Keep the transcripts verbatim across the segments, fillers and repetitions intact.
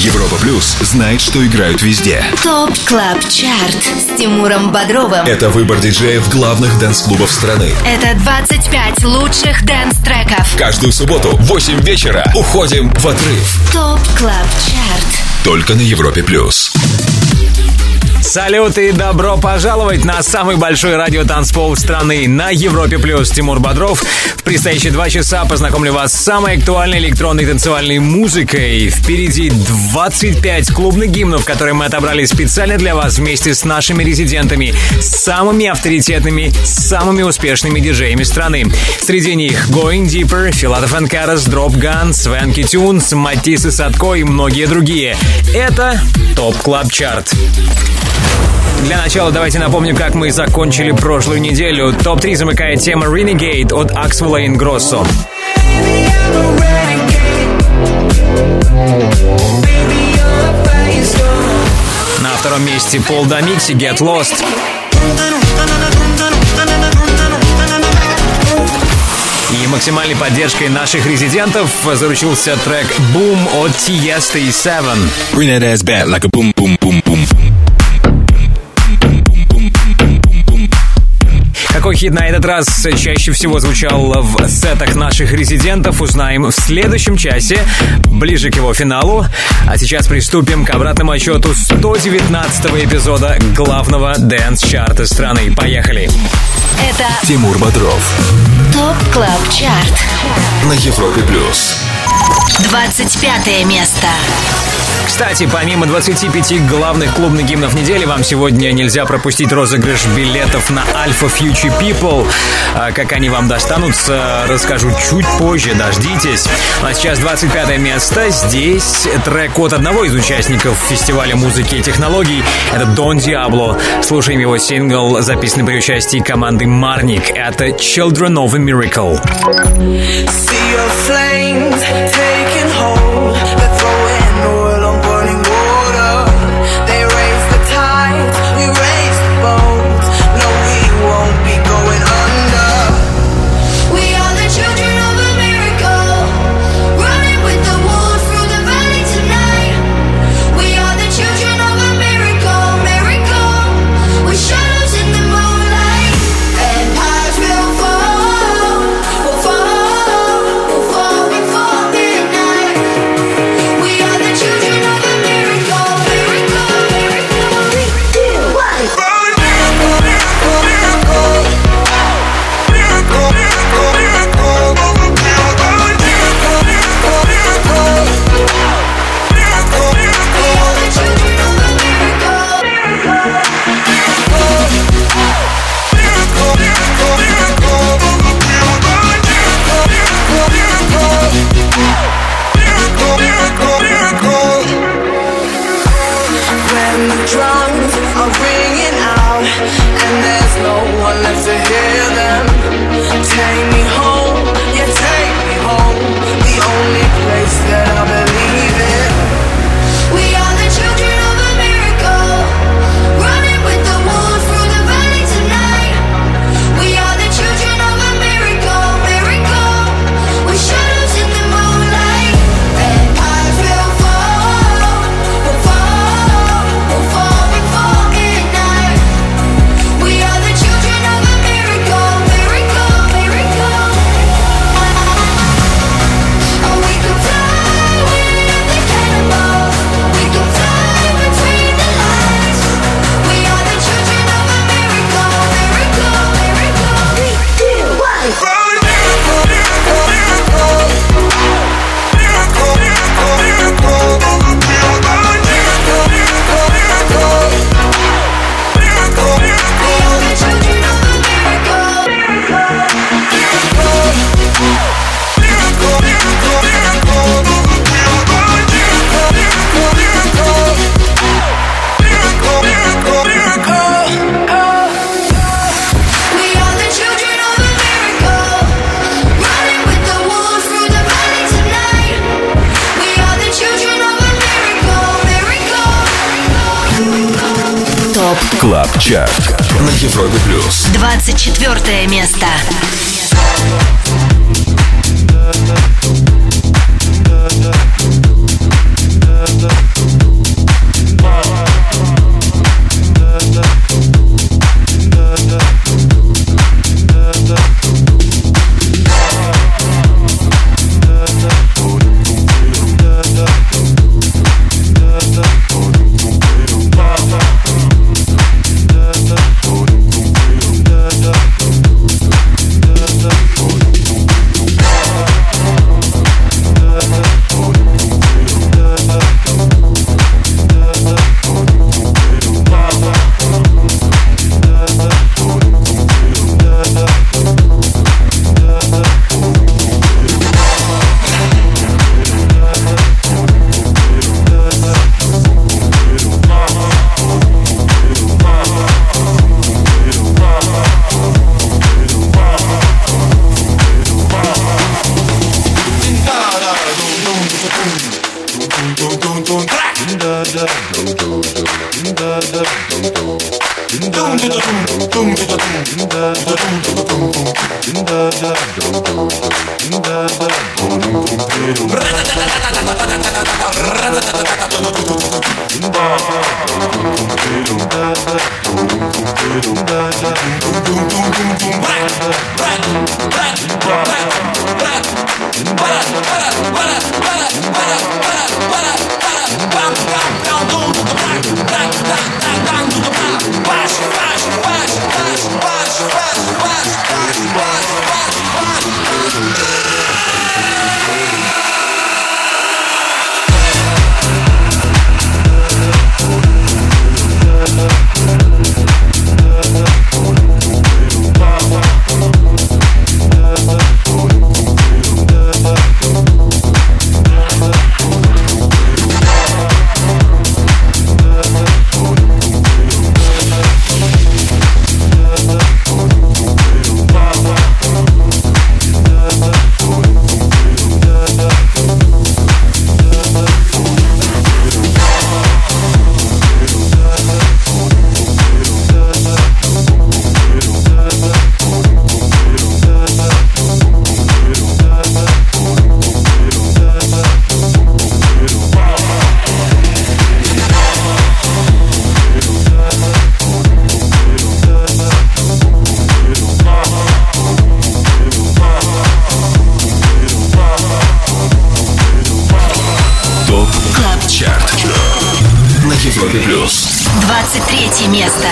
Европа Плюс знает, что играют везде. ТОП Клаб Чарт с Тимуром Бодровым. Это выбор диджеев главных дэнс-клубов страны. Это двадцать пять лучших дэнс-треков. Каждую субботу в восемь вечера уходим в отрыв. ТОП Клаб Чарт. Только на Европе Плюс. Салют и добро пожаловать на самый большой радиотанцпол страны на Европе Плюс. Тимур Бодров. В предстоящие два часа познакомлю вас с самой актуальной электронной танцевальной музыкой. Впереди двадцать пять клубных гимнов, которые мы отобрали специально для вас вместе с нашими резидентами, самыми авторитетными, самыми успешными диджеями страны. Среди них Going Deeper, Филатов энд Карас, Drop Gun, Свенки Тюнс, Матис и Садко и многие другие. Это ТОП Клаб Чарт. Для начала давайте напомним, как мы закончили прошлую неделю. топ три замыкает тема Renegade от Axwell и Ingrosso. На втором месте Пол Дамикси Get Lost. И максимальной поддержкой наших резидентов заручился трек Boom от Tiesto и Seven. Bring that ass back like a boom, boom, boom, boom. Какой хит на этот раз чаще всего звучал в сетах наших резидентов, узнаем в следующем часе, ближе к его финалу. А сейчас приступим к обратному отчету сто девятнадцатого эпизода главного дэнс-чарта страны. Поехали! Это Тимур Бодров. ТОП Клаб Чарт На Европе Плюс. двадцать пятое место. Кстати, помимо двадцати пяти главных клубных гимнов недели, вам сегодня нельзя пропустить розыгрыш билетов на Alpha Future People. А как они вам достанутся, расскажу чуть позже, дождитесь. А сейчас двадцать пятое место. Здесь трек от одного из участников фестиваля музыки и технологий. Это Дон Диабло. Слушаем его сингл, записанный при участии команды Marnik. Это Children of a Miracle. See your flames taking hold. They're throwing oil on burning water. They raise the tide, we raise the boat. No, we won't be going under. We are the children of a miracle, running with the wolves through the valley tonight. We are the children of a miracle, miracle, with shadows in the moonlight. Empires will fall, will fall, will fall before midnight. We are the children of a miracle, miracle, miracle. Three, two, one. When the drums are ringing out and there's no one left to hear them, take me home, yeah, take me home, the only place that I believe in. We are the children of a miracle, running with the wolves through the valley tonight. We are the children of a miracle, miracle, with shadows in the moonlight. Empires will fall, will fall, will fall before midnight. We are the children of a miracle, miracle, miracle. Oh, we can fly with the cannonballs. We can fly between the lines. We are the children of a miracle, miracle, miracle. Three, two, one. We are the children of a miracle. We are the children of a miracle, running with the wolves through the valley tonight. We are the children of a miracle, miracle. ТОП Клаб Чарт на Европе Плюс. двадцать четвертое место. We'll be right back. двадцать третье место.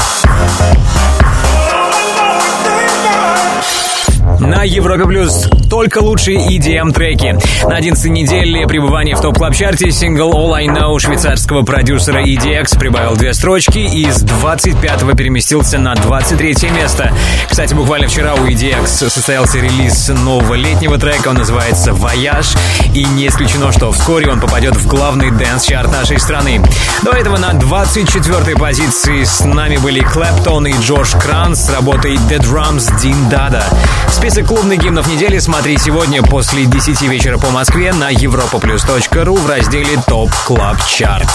Европе Плюс только лучшие и ди эм-треки. На одиннадцатой неделе пребывания в топ-клаб-чарте сингл All I Know швейцарского продюсера и ди экс прибавил две строчки и с двадцать пятого переместился на двадцать третье место. Кстати, буквально вчера у и ди экс состоялся релиз нового летнего трека, он называется «Voyage», и не исключено, что вскоре он попадет в главный дэнс-чарт нашей страны. До этого на двадцать четвёртой позиции с нами были Клэптон и Джош Кранс с работой The Drums Дин Дада. Список клубных гимнов недели смотри сегодня после десяти вечера по Москве на европа плюс точка ру в разделе ТОП Клаб Чарт.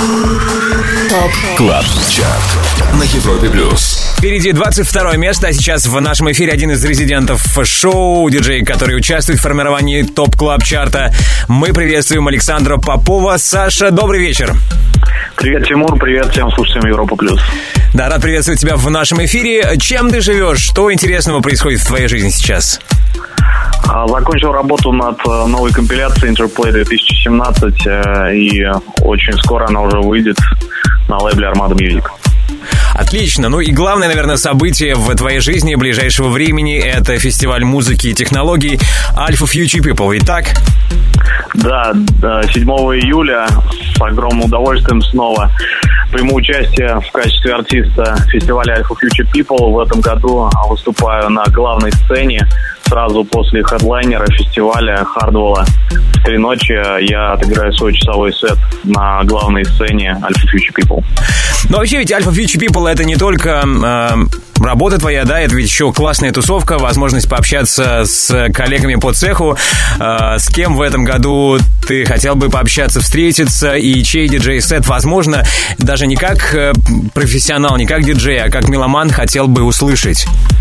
ТОП Клаб Чарт на Европе плюс. Впереди двадцать второе место, а сейчас в нашем эфире один из резидентов шоу, диджей, который участвует в формировании ТОП Клаб Чарта. Мы приветствуем Александра Попова. Саша, добрый вечер. Привет, Тимур, привет всем слушателям Европа плюс. Да, рад приветствовать тебя в нашем эфире. Чем ты живешь? Что интересного происходит в твоей жизни сейчас? Закончил работу над новой компиляцией Interplay две тысячи семнадцать, и очень скоро она уже выйдет на лейбле Armada Music. Отлично. Ну и главное, наверное, событие в твоей жизни ближайшего времени — это фестиваль музыки и технологий Alpha Future People, ведь так? Да, седьмого июля с огромным удовольствием снова приму участие в качестве артиста фестиваля Alpha Future People. В этом году выступаю на главной сцене сразу после хедлайнера фестиваля Хардвелла. В три ночи я отыграю свой часовой сет на главной сцене Alpha Future People. Но вообще ведь Alpha Future People — это не только э, работа твоя, да, это ведь еще классная тусовка, возможность пообщаться с коллегами по цеху. Э, с кем в этом году ты хотел бы пообщаться, встретиться, и чей диджей-сет, возможно, даже не как э, профессионал, не как диджей, а как меломан хотел бы услышать?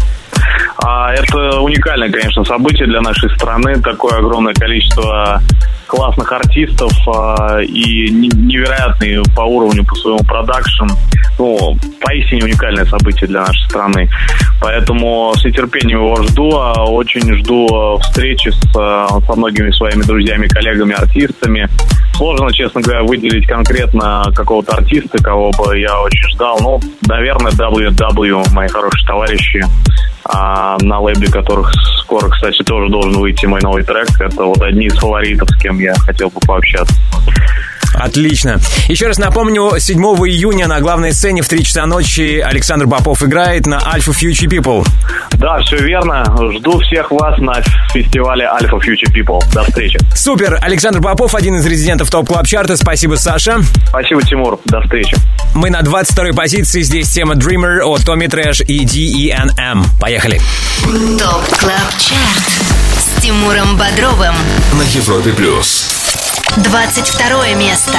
Это уникальное, конечно, событие для нашей страны. Такое огромное количество классных артистов и невероятный по уровню, по своему продакшн. Ну, поистине уникальное событие для нашей страны. Поэтому с нетерпением его жду. Очень жду встречи с, со многими своими друзьями, коллегами, артистами. Сложно, честно говоря, выделить конкретно какого-то артиста, кого бы я очень ждал. Ну, наверное, дабл ю дабл ю, мои хорошие товарищи, а, на лейбле которых скоро, кстати, тоже должен выйти мой новый трек. Это вот одни из фаворитов, с кем я хотел бы пообщаться. Отлично. Еще раз напомню, седьмого июня на главной сцене в три часа ночи Александр Попов играет на Alpha Future People. Да, все верно. Жду всех вас на фестивале Alpha Future People. До встречи. Супер. Александр Попов, один из резидентов ТОП Клаб Чарта. Спасибо, Саша. Спасибо, Тимур. До встречи. Мы на двадцать второй позиции. Здесь тема Dreamer от Tommy Trash и ди и эн эм. Поехали. ТОП Клаб Чарт с Тимуром Бодровым на Европе плюс. двадцать второе место.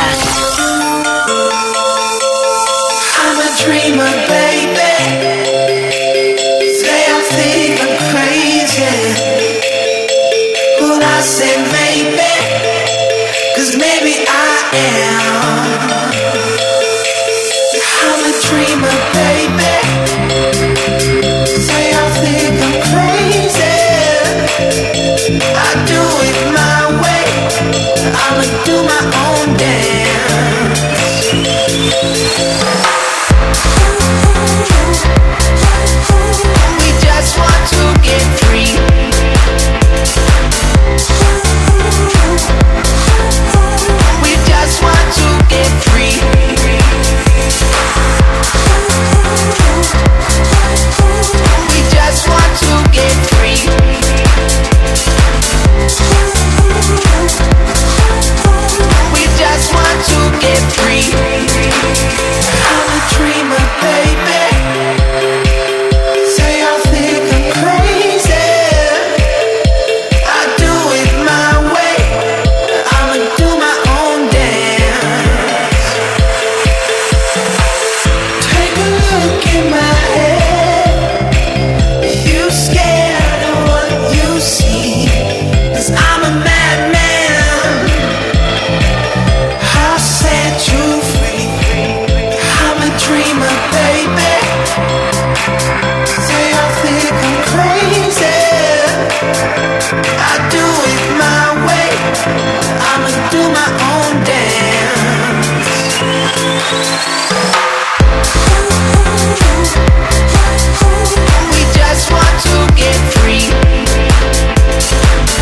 I'm a dreamer, baby. Say I think I'm crazy, but I say maybe, 'cause maybe I am. I'm a dreamer, baby. Say I think I'm crazy, I do it my way. I'ma do my own dance. We just want to get free. We just want to get free. We just want to get free. We just want to get free. I'm a dreamer, baby. Say I think I'm crazy, I do it my way. I'ma do my own dance. Take a look in my head. You scared of what you see, 'cause I'm a madman. I'll set you free. I'm a dreamer, baby. Say I think I'm crazy, I do it my way. I'ma do my own dance. We just want to get free.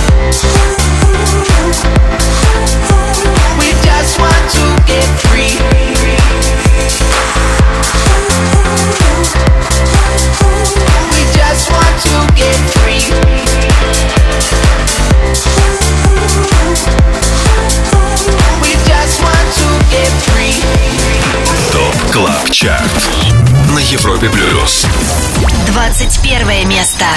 Чарт на Европе плюс. двадцать первое место.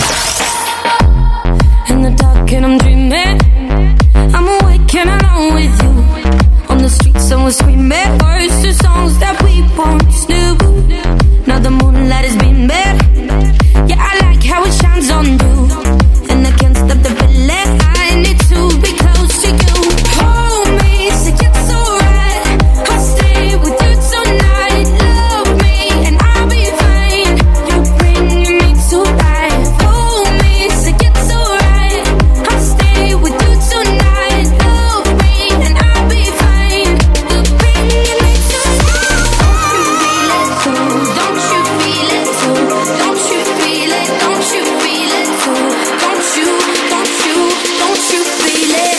In the dark and I'm dreaming, I'm awake and alone with you. On the streets someone screaming words to songs that we once knew. Now the moonlight has been bare. Yeah, I like how it shines on you. And I can't stop the feeling. I need to be close to you. Hold me, say it's alright. I'll stay with you tonight. Love me and I'll be fine. You're bringing me to life. Hold me, say it's alright. I'll stay with you tonight. Love me and I'll be fine. You're bringing me to life. Don't you feel it too? Don't you feel it too? Don't you feel it? Don't you feel it too? Don't you, don't you, don't you feel it?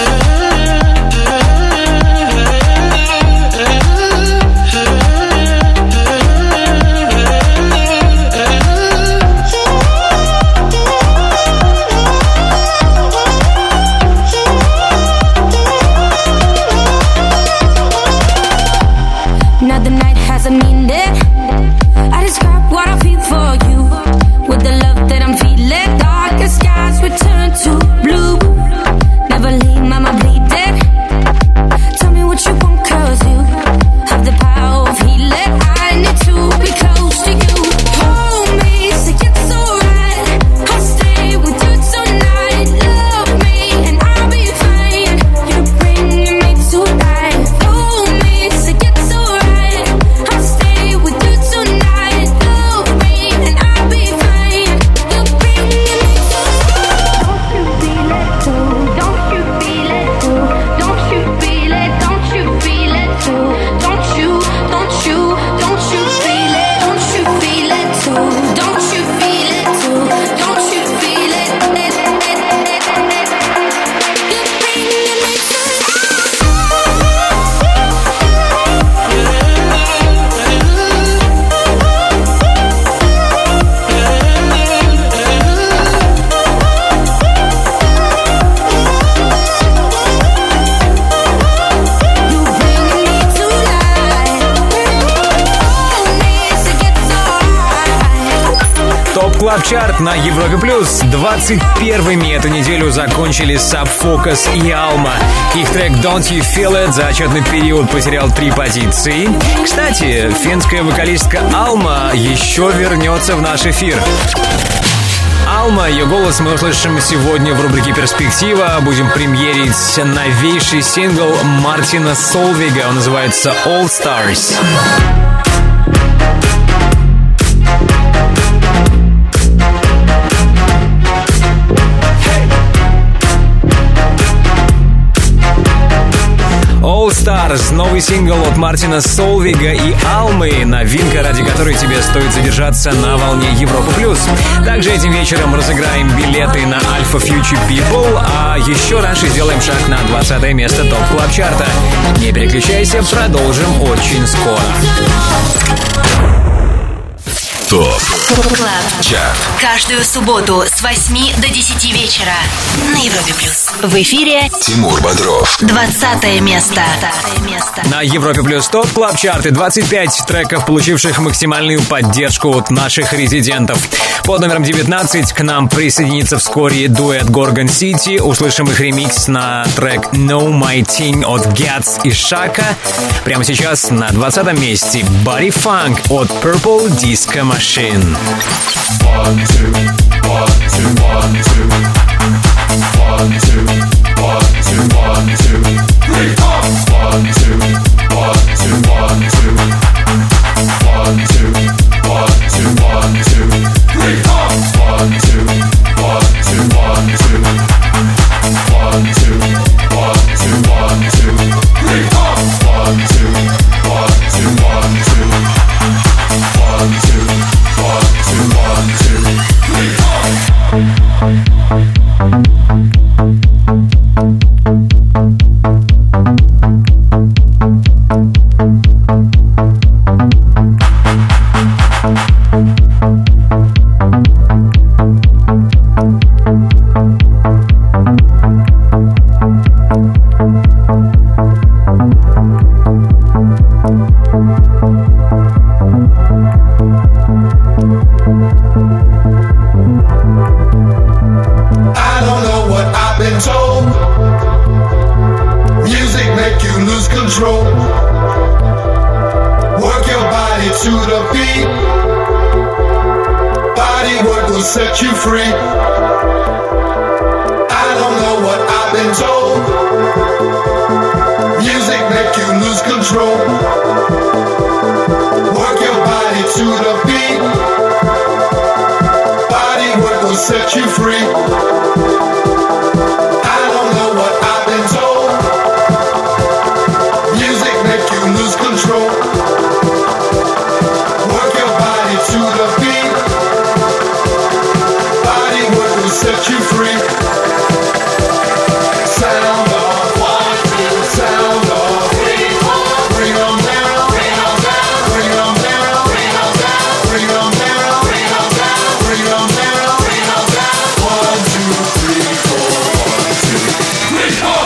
Now the night has a meaning. I describe what I feel for you. With the love that I'm feeling, darker skies return to blue. Never leave mama bleeding. Tell me what you want, cause you have the power of healing. I need to be close to you. Hold me, say it's alright. I'll stay with you tonight. Love me and I'll be fine. You're bringing me to life. Hold me, say it's alright. I'll stay with you tonight. Love me and I'll be fine. You're bringing me to life. Don't you feel it too? Don't you feel it too? Don't you feel it? Don't you feel it too? Don't you, don't you, don't you feel it? Don't you feel it too? Don't you feel it too? Don't you feel it? You're bringing me to You bringing me to life. Hold me, say it's alright. ТОП Клаб Чарт на Европе Плюс. двадцать первыми эту неделю закончили Sub Focus и Alma. Их трек Don't You Feel It за отчетный период потерял три позиции. Кстати, финская вокалистка Alma еще вернется в наш эфир. Alma, ее голос мы услышим сегодня в рубрике «Перспектива». Будем премьерить новейший сингл Мартина Солвига. Он называется All Stars. All Stars, новый сингл от Мартина Солвига и Алмы, новинка, ради которой тебе стоит задержаться на волне Европа Плюс. Также этим вечером разыграем билеты на Alpha Future People, а еще раньше сделаем шаг на двадцатое место ТОП Клаб Чарта. Не переключайся, продолжим очень скоро. ТОП Клаб Чарт. Каждую субботу с восьми до десяти вечера на Европе Плюс. В эфире Тимур Бодров. двадцатое место. На Европе Плюс ТОП Клаб Чарты двадцать пять треков, получивших максимальную поддержку от наших резидентов. Под номером девятнадцать к нам присоединится вскоре дуэт Gorgon City. Услышим их ремикс на трек Know My Thing от Gats и Shaka. Прямо сейчас на двадцатом месте Body Funk от Purple Disco Machine. One, two, one, two, one, two. One, two, one, two, one, two. Three, four. One, two, one, two, one, two. One, two, one, two, one, two. Three, four. One, two, one, two, one, two. One, two, one, two, one, two. Three, four. One, two, one, two, one, two. One, two, one, two, one, two, three, four. control. Work your body to the beat. Body work will set you free. I don't know what I've been told. Music make you lose control. Work your body to the beat. Body work will set you free. I don't know what I've been told. Music make you lose control. Work your body to the beat. Body work will set you free. Sound off, one, two, sound off, three, four. Bring 'em down, bring 'em down, bring 'em down, bring 'em down, bring 'em down, bring 'em down, bring 'em down, bring 'em down. One, two, three, four. One, two, three, four.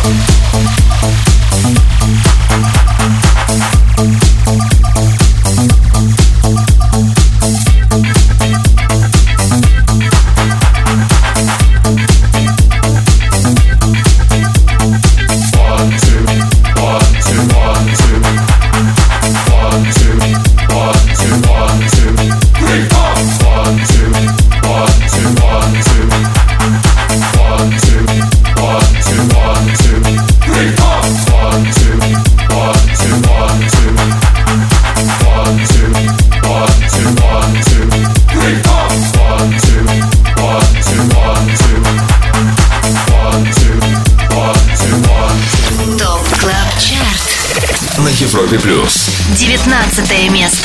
Европе плюс. девятнадцатое место.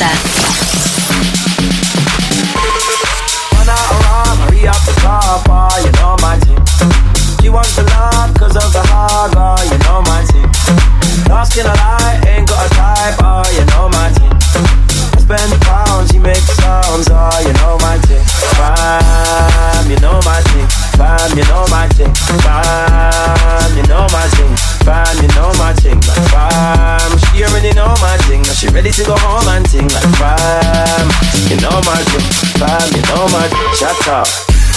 She wants to love cause of the hard, oh, you know my team. Asking a lie, ain't got a type, oh, you know my team. I spend pounds, she makes sounds, oh, you know my team. Bam, you know my team. Bam, you know my team. Bam, you know my team. Bam, you know my team. Like bam, she already know my thing. Now she ready to go home and ting. Like bam, you know my thing. Bam, you know my thing. Shut up.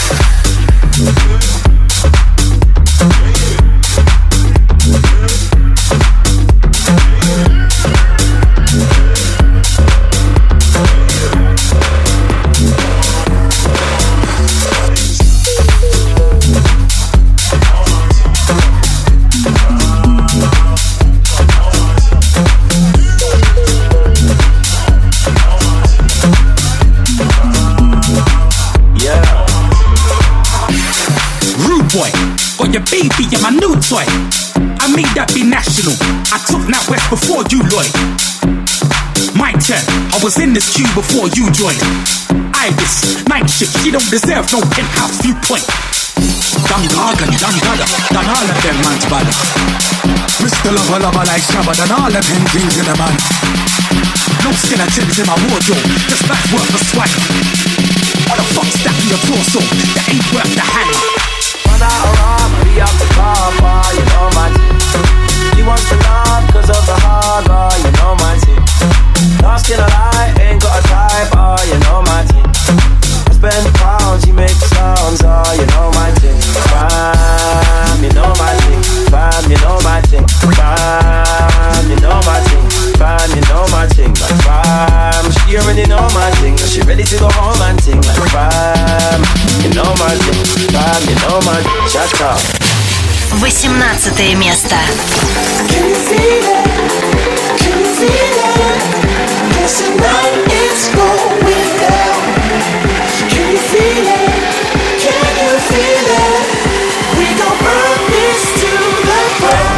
Your baby and my new toy. I made that be national. I took Nat West before you, Lloyd. My turn. I was in this queue before you joined. Ibis, night shift. She don't deserve no penthouse viewpoint. Dum Gargan, Dum Gada, done all of them man's body. Mister Lover Lover like Shabba, done all of him things in the man. No skeletons in my wardrobe, just that's worth a swipe. What the fuck's that in your torso? That ain't worth the hang. Be up the car, oh, you know my team. She wants to love cause of the hard, oh, you know my team. Asking a lie, ain't got a type, oh, you know my team. I spend pounds, she makes sounds, oh, you know my team. Bam, you know my team. Bam, you know my team. Bam, you know my team. Bam, you know my team. Like bam, she already know my thing. She ready to go home and ting. Like bam, you know my thing. Bam, you know my thing. Shut up. восемнадцатое место. Can you feel it? Can you feel it? 'Cause tonight it's going down. Can you feel it? Can you feel it? We gon' burn this to the ground.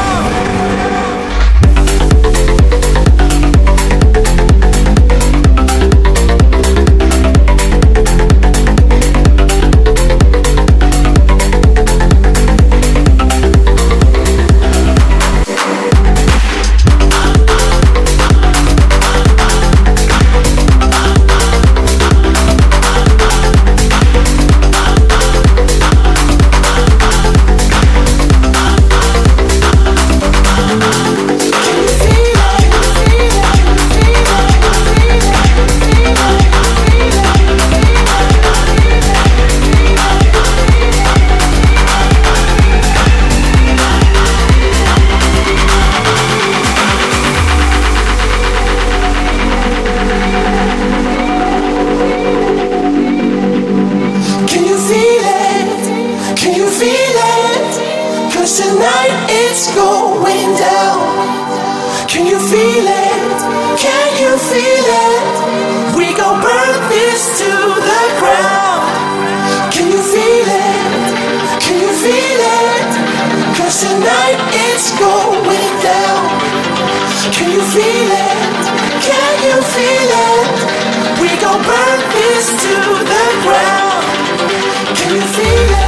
feel it? Can you feel it? We gon' burn this to the ground. Can you feel it? Can you feel it? 'Cause tonight it's going down. Can you feel it? Can you feel it? We gon' burn this to the ground. Can you feel it?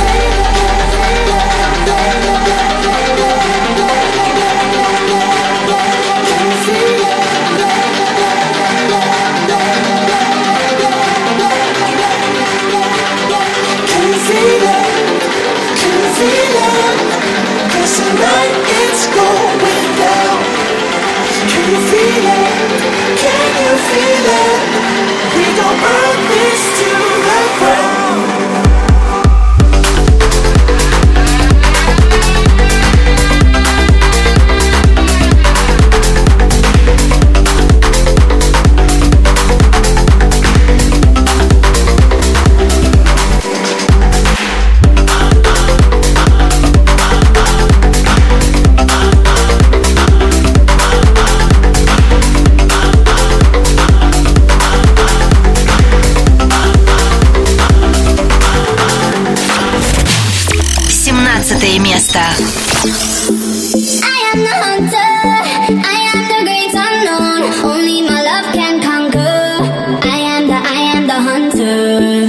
Tonight it's going down. Can you feel it? Can you feel it? We gon' burn this to the ground. семнадцатое место. I am the hunter, I am the great unknown. Only my love can conquer. I am the, I am the hunter.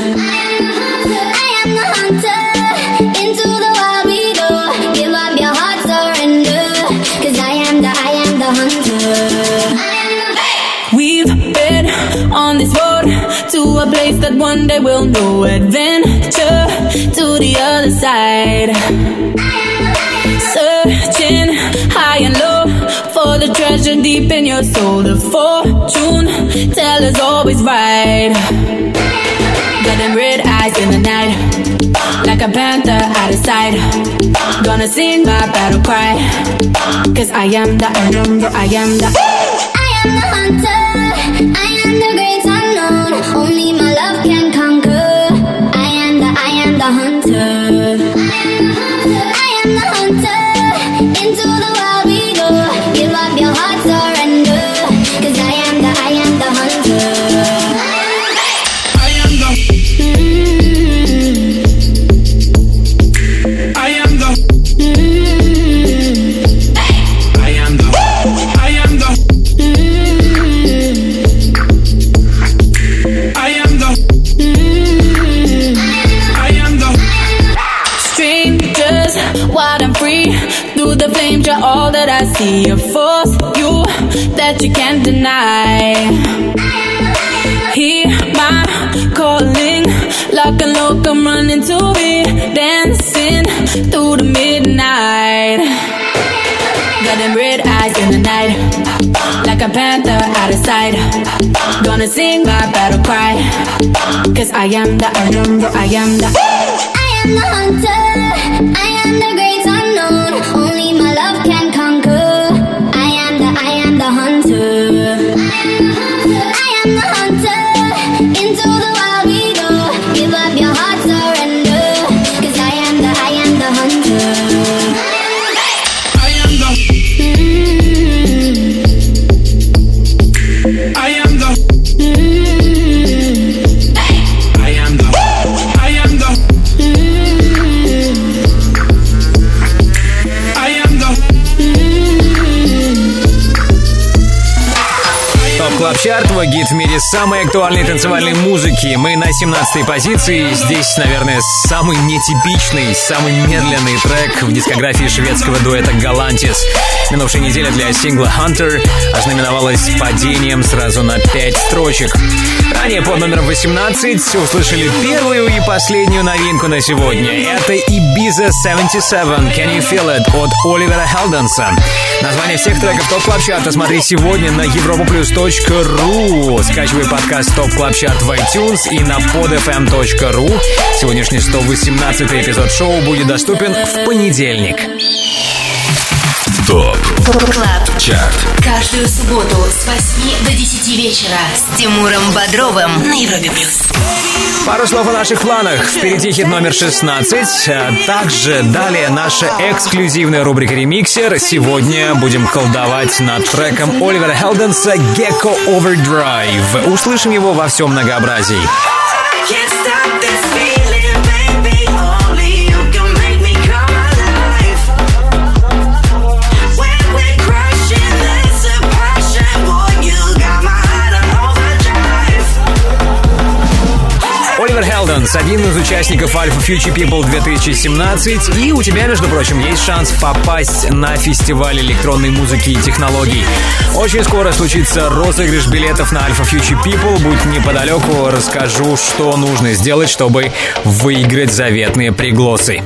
I am the hunter. Into the wild we go. Give up your heart, surrender. 'Cause I am the, I am the hunter. We've been on this road to a place that one day we'll know. Adventure to the other side. Searching high and low for the treasure deep in your soul. The fortune teller's always right. Got them red eyes in the night, like a panther out of sight. Gonna sing my battle cry. 'Cause I am the, I am the, I am the I am the hunter, I am the great unknown. Only my love can conquer. I am the, I am the hunter. I am the hunter. Into the wild we go. Give up your heart, surrender. 'Cause I am the, I am the hunter. I am the, Mm-hmm. I am the, Mm-hmm. I am the, I am the, Mm-hmm. I am the, Mm-hmm. I am the. strangers, wild and free. Through the flames, you're all that I see. A force, you, that you can't deny. Hear my calling, lock and lock, I'm running to be dancing through the midnight. Got them red eyes in the night, like a panther out of sight. Gonna sing my battle cry. 'Cause I am the, I am the, I am the I am the hunter, I am the great unknown. Only my love can conquer. I am the, I am the hunter. I am the hunter. Into the wild we go. Give up your heart, surrender. 'Cause I am the, I am the hunter. I am the, Mm-hmm. I am the, Mm-hmm. I am the, I am the, I am the. Топ Клаб Чарт, твой гид в мире самой актуальной танцевальной музыки. Мы на семнадцатой позиции. Здесь, наверное, самый нетипичный, самый медленный трек в дискографии шведского дуэта Galantis. Минувшая неделя для сингла Hunter ознаменовалась падением сразу на пять строчек. Ранее под номером восемнадцать услышали первую и последнюю новинку на сегодня. Это Ibiza семьдесят семь Can You Feel It от Оливера Хелденса. Название всех треков Топ Клаб Чарта смотри сегодня на европаплюс точка ру. Скачивай подкаст Топ Клаб Чарт в iTunes и на под эф эм точка ру. Сегодняшний сто восемнадцатый эпизод шоу будет доступен в понедельник. ТОП КЛАБ ЧАРТ. Каждую субботу с восьми до десяти вечера с Тимуром Бодровым на Европе плюс. Пару слов о наших планах. Впереди хит номер шестнадцать. А также далее наша эксклюзивная рубрика «Ремиксер». Сегодня будем колдовать над треком Оливера Хелденса «Gecko Overdrive». Услышим его во всем многообразии. Оливер Хелденс, один из участников Alpha Future People две тысячи семнадцать. И у тебя, между прочим, есть шанс попасть на фестиваль электронной музыки и технологий. Очень скоро случится розыгрыш билетов на Alpha Future People. Будь неподалеку, расскажу, что нужно сделать, чтобы выиграть заветные пригласы.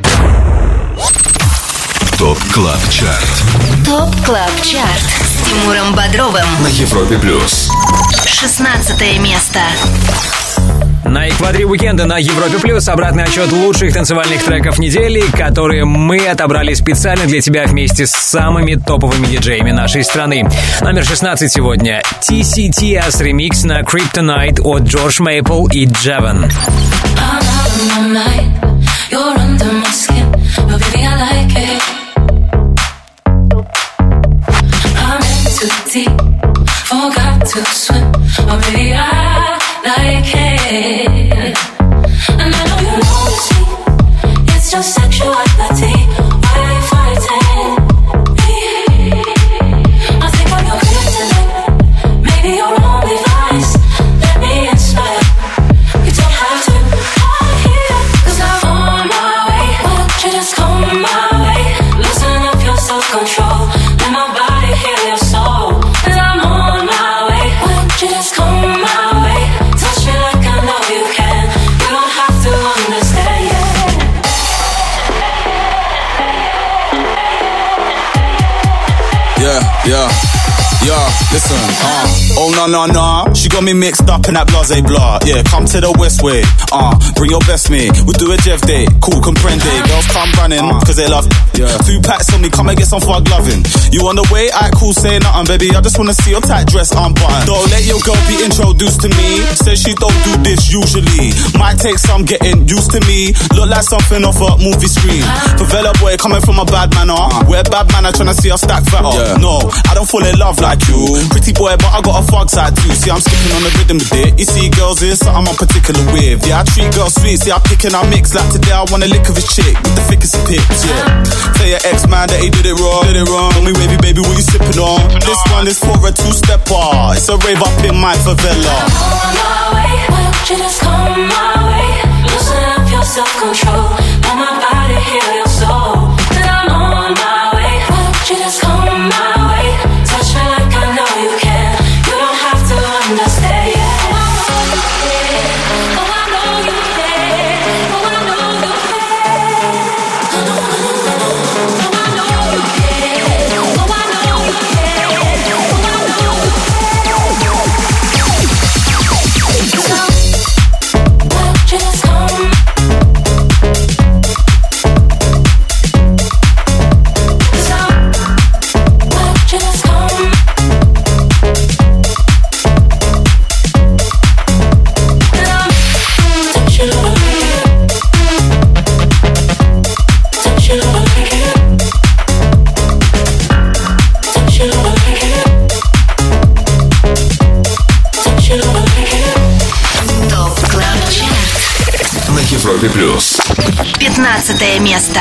ТОП Клаб Чарт. ТОП Клаб Чарт с Тимуром Бодровым На Европе плюс. шестнадцатое место. На экваторе уикенда на Европе плюс обратный отчет лучших танцевальных треков недели, которые мы отобрали специально для тебя вместе с самыми топовыми диджеями нашей страны. Номер шестнадцать сегодня. ти си ти эс ремикс на Kryptonite от Джордж Мейпл и Джеван. Like it, and I know you notice me. It's just sexuality. Why are you fighting me? I think I'm your kryptonite, maybe your only vice. Let me inspire. You don't have to hide here, 'cause I'm on my way. Why don't you just come my way? Loosen up your self-control. Let my body heal your soul. 'Cause I'm on my way. Why don't you just come my way? Yeah, yeah, yeah, listen, uh, oh no, no, no, she got me mixed up in that blase blah, yeah, come to the west way, uh, bring your best mate, we'll do a Jeff day, cool, comprende, girls come running, uh, cause they love, yeah, two packs on me, come and get some fug loving, you on the way, alright, cool, say nothing, baby, I just wanna see your tight dress unbuttoned, don't let your girl be introduced to me, says she don't do this usually, might take some getting used to me, look like something off a movie screen, favela boy coming from a bad manner, we're bad manner trying to see us stack fatter, yeah. No, I don't fall in love like you. Pretty boy, but I got a fog side too. See, I'm skipping on the rhythm with it. You see, girls, is something I'm particular with. Yeah, I treat girls sweet. See, I pick and I mix. Like today, I want a lick of his chick with the thickest of pics. Yeah. Tell your ex-man that he did it wrong. Did it wrong. Tell me, wavy baby, what you sipping on? This one is for a two-stepper. It's a rave up in my favela. I'm on my way. Why don't you just come my way? Loosen up your self-control. Let my body heal your soul. 'Cause I'm on my way. Why don't you just come my way? Touch me like I know you can. You don't have to understand. Oh, I know you can. Oh, I know you can. Oh, I know you can. Oh, I know you can. Oh, I know you can. Oh, I know you can. So, why don't you just come? Европе плюс. пятнадцатое место.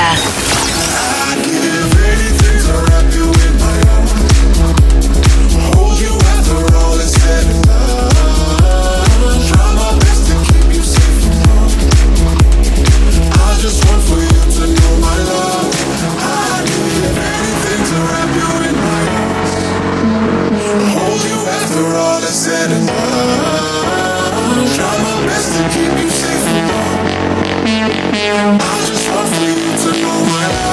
I just want for you to know my love.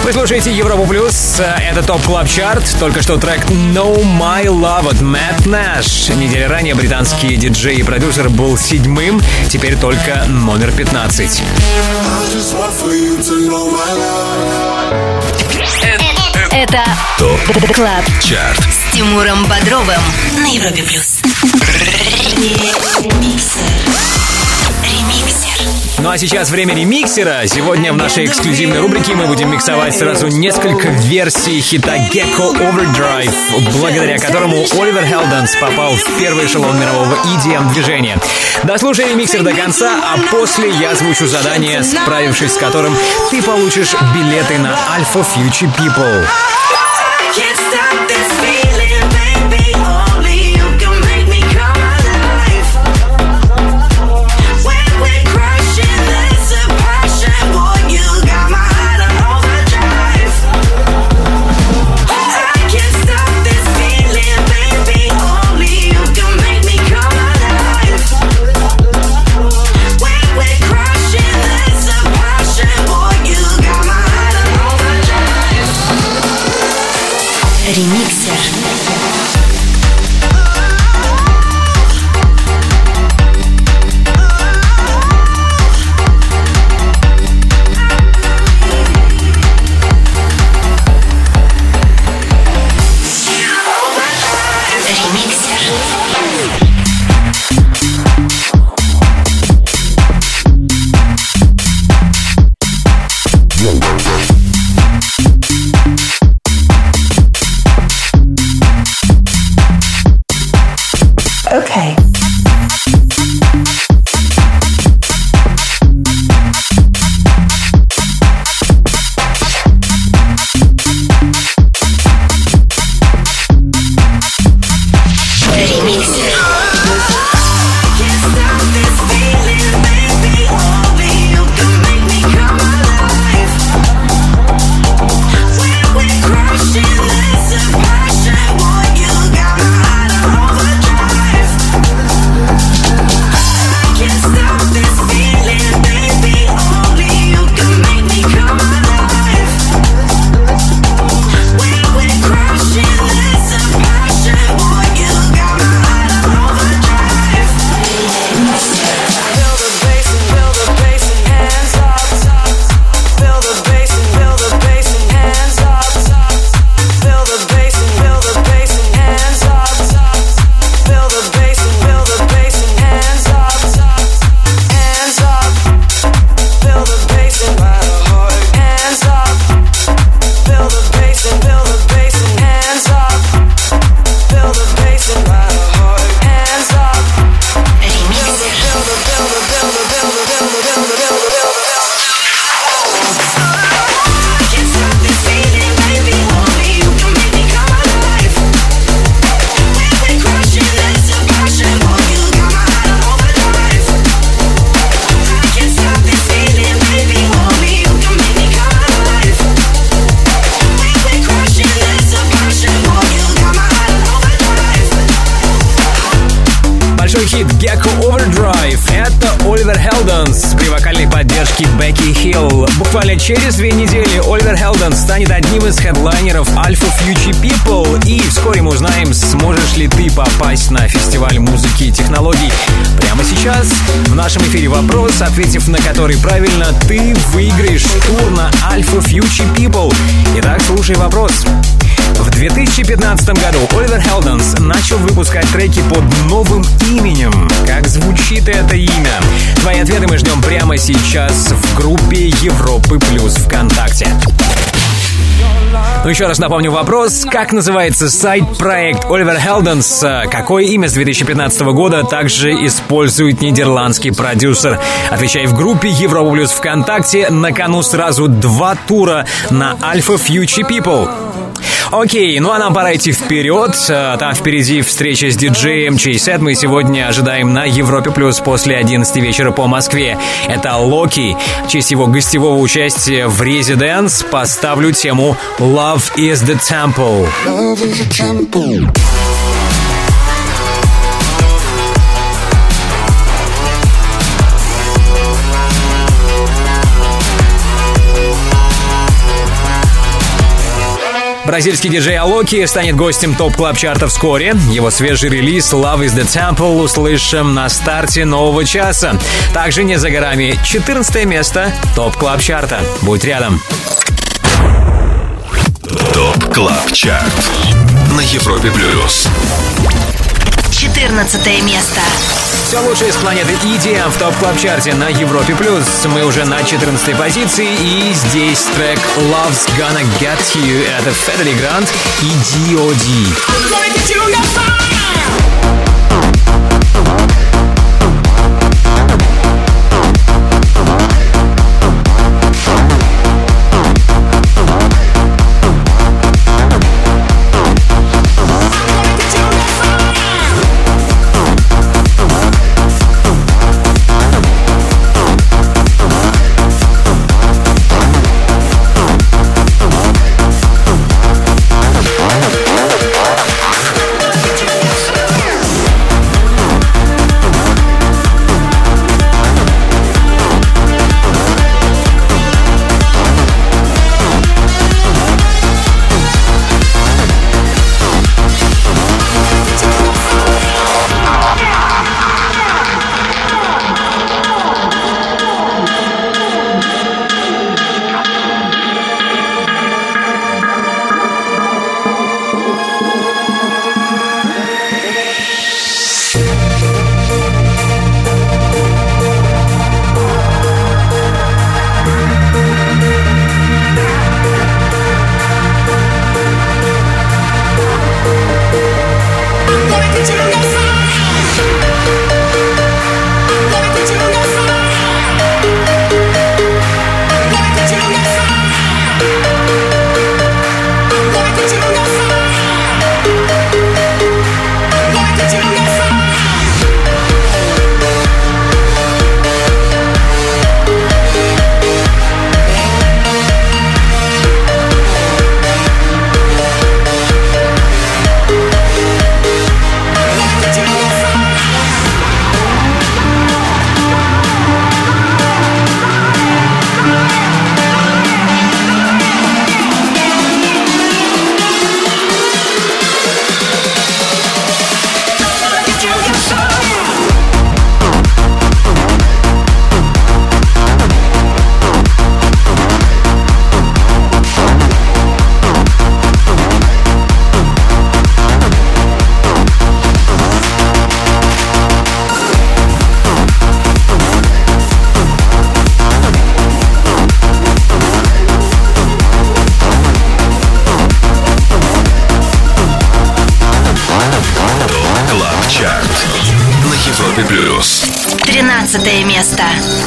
Вы слушаете Европу Плюс, это ТОП Клаб Чарт. Только что трек No My Love от Matt Nash. Неделю ранее британский диджей и продюсер был седьмым, теперь только номер пятнадцать. Это ТОП Клаб Чарт с Тимуром Бодровым на Европе Плюс. Ну а сейчас время ремиксера. Сегодня в нашей эксклюзивной рубрике мы будем миксовать сразу несколько версий хита Gecko Overdrive, благодаря которому Оливер Хелденс попал в первый эшелон мирового и ди эм движения. Дослушай ремиксер до конца, а после я озвучу задание, справившись с которым ты получишь билеты на Alpha Future People. Ремиксер. Okay. Gecko Overdrive. Это Оливер Хелденс при вокальной поддержке Бекки Хилл. Буквально через две недели Оливер Хелденс станет одним из хедлайнеров Alpha Future People. И вскоре мы узнаем, сможешь ли ты попасть на фестиваль музыки и технологий. Прямо сейчас в нашем эфире вопрос, ответив на который правильно, ты выиграешь тур на Alpha Future People. Итак, слушай вопрос. В две тысячи пятнадцатом году Оливер Хелденс начал выпускать треки под новым именем. Как звучит это имя? Твои ответы мы ждем прямо сейчас в группе Европы Плюс ВКонтакте. Ну, еще раз напомню вопрос. Как называется сайт-проект Оливер Хелденс? Какое имя с две тысячи пятнадцатого года также использует нидерландский продюсер? Отвечай в группе Европа Плюс ВКонтакте. На кону сразу два тура на Alpha Future People. Окей, ну а нам пора идти вперед. Там впереди встреча с диджеем, чей сет мы сегодня ожидаем на Европе Плюс после одиннадцати вечера по Москве. Это Локи. В честь его гостевого участия в Residence поставлю тему Love is the Temple. Love is a temple. Бразильский диджей Алоки станет гостем топ-клаб-чарта вскоре. Его свежий релиз «Love is the Temple» услышим на старте нового часа. Также не за горами четырнадцатое место топ-клаб-чарта. Будь рядом. ТОП-КЛАБ-ЧАРТ на Европе плюс. четырнадцатое место. Все лучшее из планеты и ди эм в топ-клаб-чарте на Европе плюс. Мы уже на четырнадцатой позиции, и здесь трек Love's Gonna Get You. Это Федери Грант и ди о ди. тринадцатое место.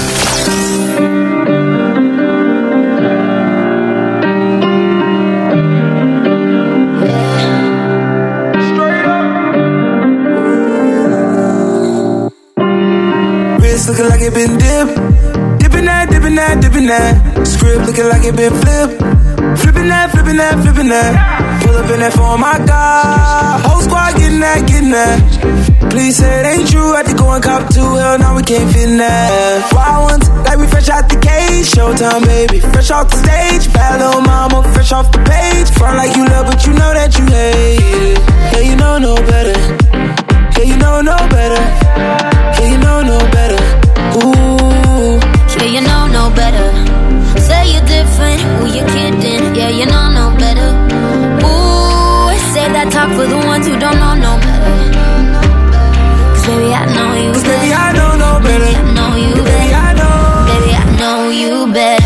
Wrist looking like it been dipped. Dipping that, dipping that, dipping that. Script looking like it been flipped. Flipping that, flipping that, flipping that. Pull up in that phone, my God. Whole squad getting that, getting that. Please say it ain't true. Had to go and cop two. Hell, now we can't fit in that. Wild ones, like we fresh out the cage. Showtime, baby. Fresh off the stage. Bad little mama, fresh off the page. Front like you love, but you know that you hate it. Yeah, you know no better. Yeah, you know no better. Yeah, you know no better. Ooh. Yeah, you know no better. Say you're different. Who you kidding? Yeah, you know no better. Ooh, say that talk for the ones who don't know no better. Cause baby, I know you Cause better. baby, I know no better. Baby, I know you Baby, better. I know. Baby, I know you better.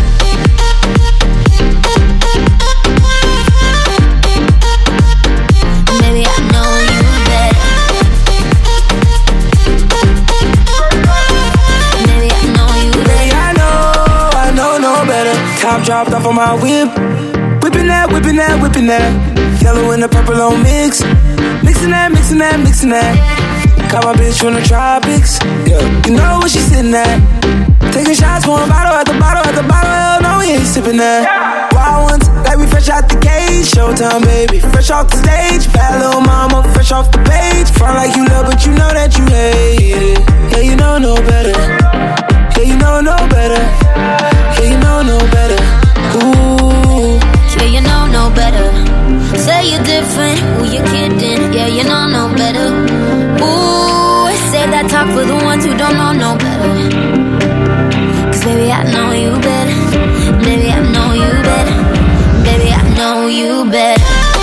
Baby, I know you better. Baby, I know you Baby, better. I know, I know no better. Top dropped off on my whip. Whipping that, whipping that, whipping that. Yellow and the purple on mix. Mixing that, mixing that, mixing that. Caught my bitch from the tropics. Yeah, you know where she sitting at. Taking shots, pouring bottle at the bottle at the bottle. Hell no, we ain't sipping that. Wild ones, like we fresh out the cage. Showtime, baby, fresh off the stage. Bad little mama, fresh off the page. Front like you love, but you know that you hate it. Yeah, you know no better. Yeah, you know no better. Yeah, you know no better. Ooh. Yeah, you know no better. boyfriend, who you kidding? Yeah, you know no better. Ooh, save that talk for the ones who don't know no better. Cause baby, I know you better. Baby, I know you better. Baby, I know you better.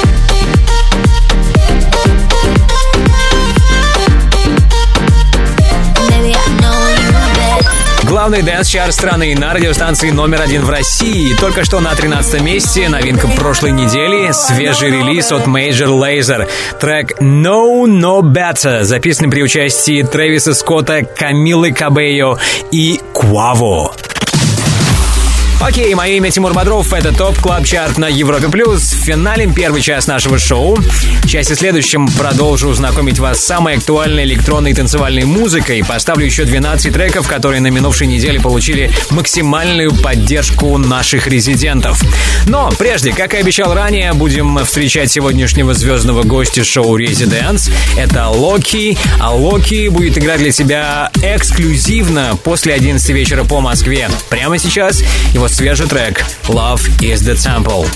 Главный дэнс-чарт страны на радиостанции номер один в России. Только что на тринадцатом месте новинка прошлой недели, свежий релиз от Major Lazer. Трек No No Better, записанный при участии Трэвиса Скотта, Камилы Кабейо и Куаво. Окей, мое имя Тимур Бодров, это ТОП Клаб Чарт на Европе Плюс. Финалем первый час нашего шоу. В части следующем продолжу знакомить вас с самой актуальной электронной и танцевальной музыкой. Поставлю еще двенадцать треков, которые на минувшей неделе получили максимальную поддержку наших резидентов. Но прежде, как и обещал ранее, будем встречать сегодняшнего звездного гостя шоу Residents. Это Локи. А Локи будет играть для тебя эксклюзивно после одиннадцати вечера по Москве. Прямо сейчас его свежий трек Love is the Temple.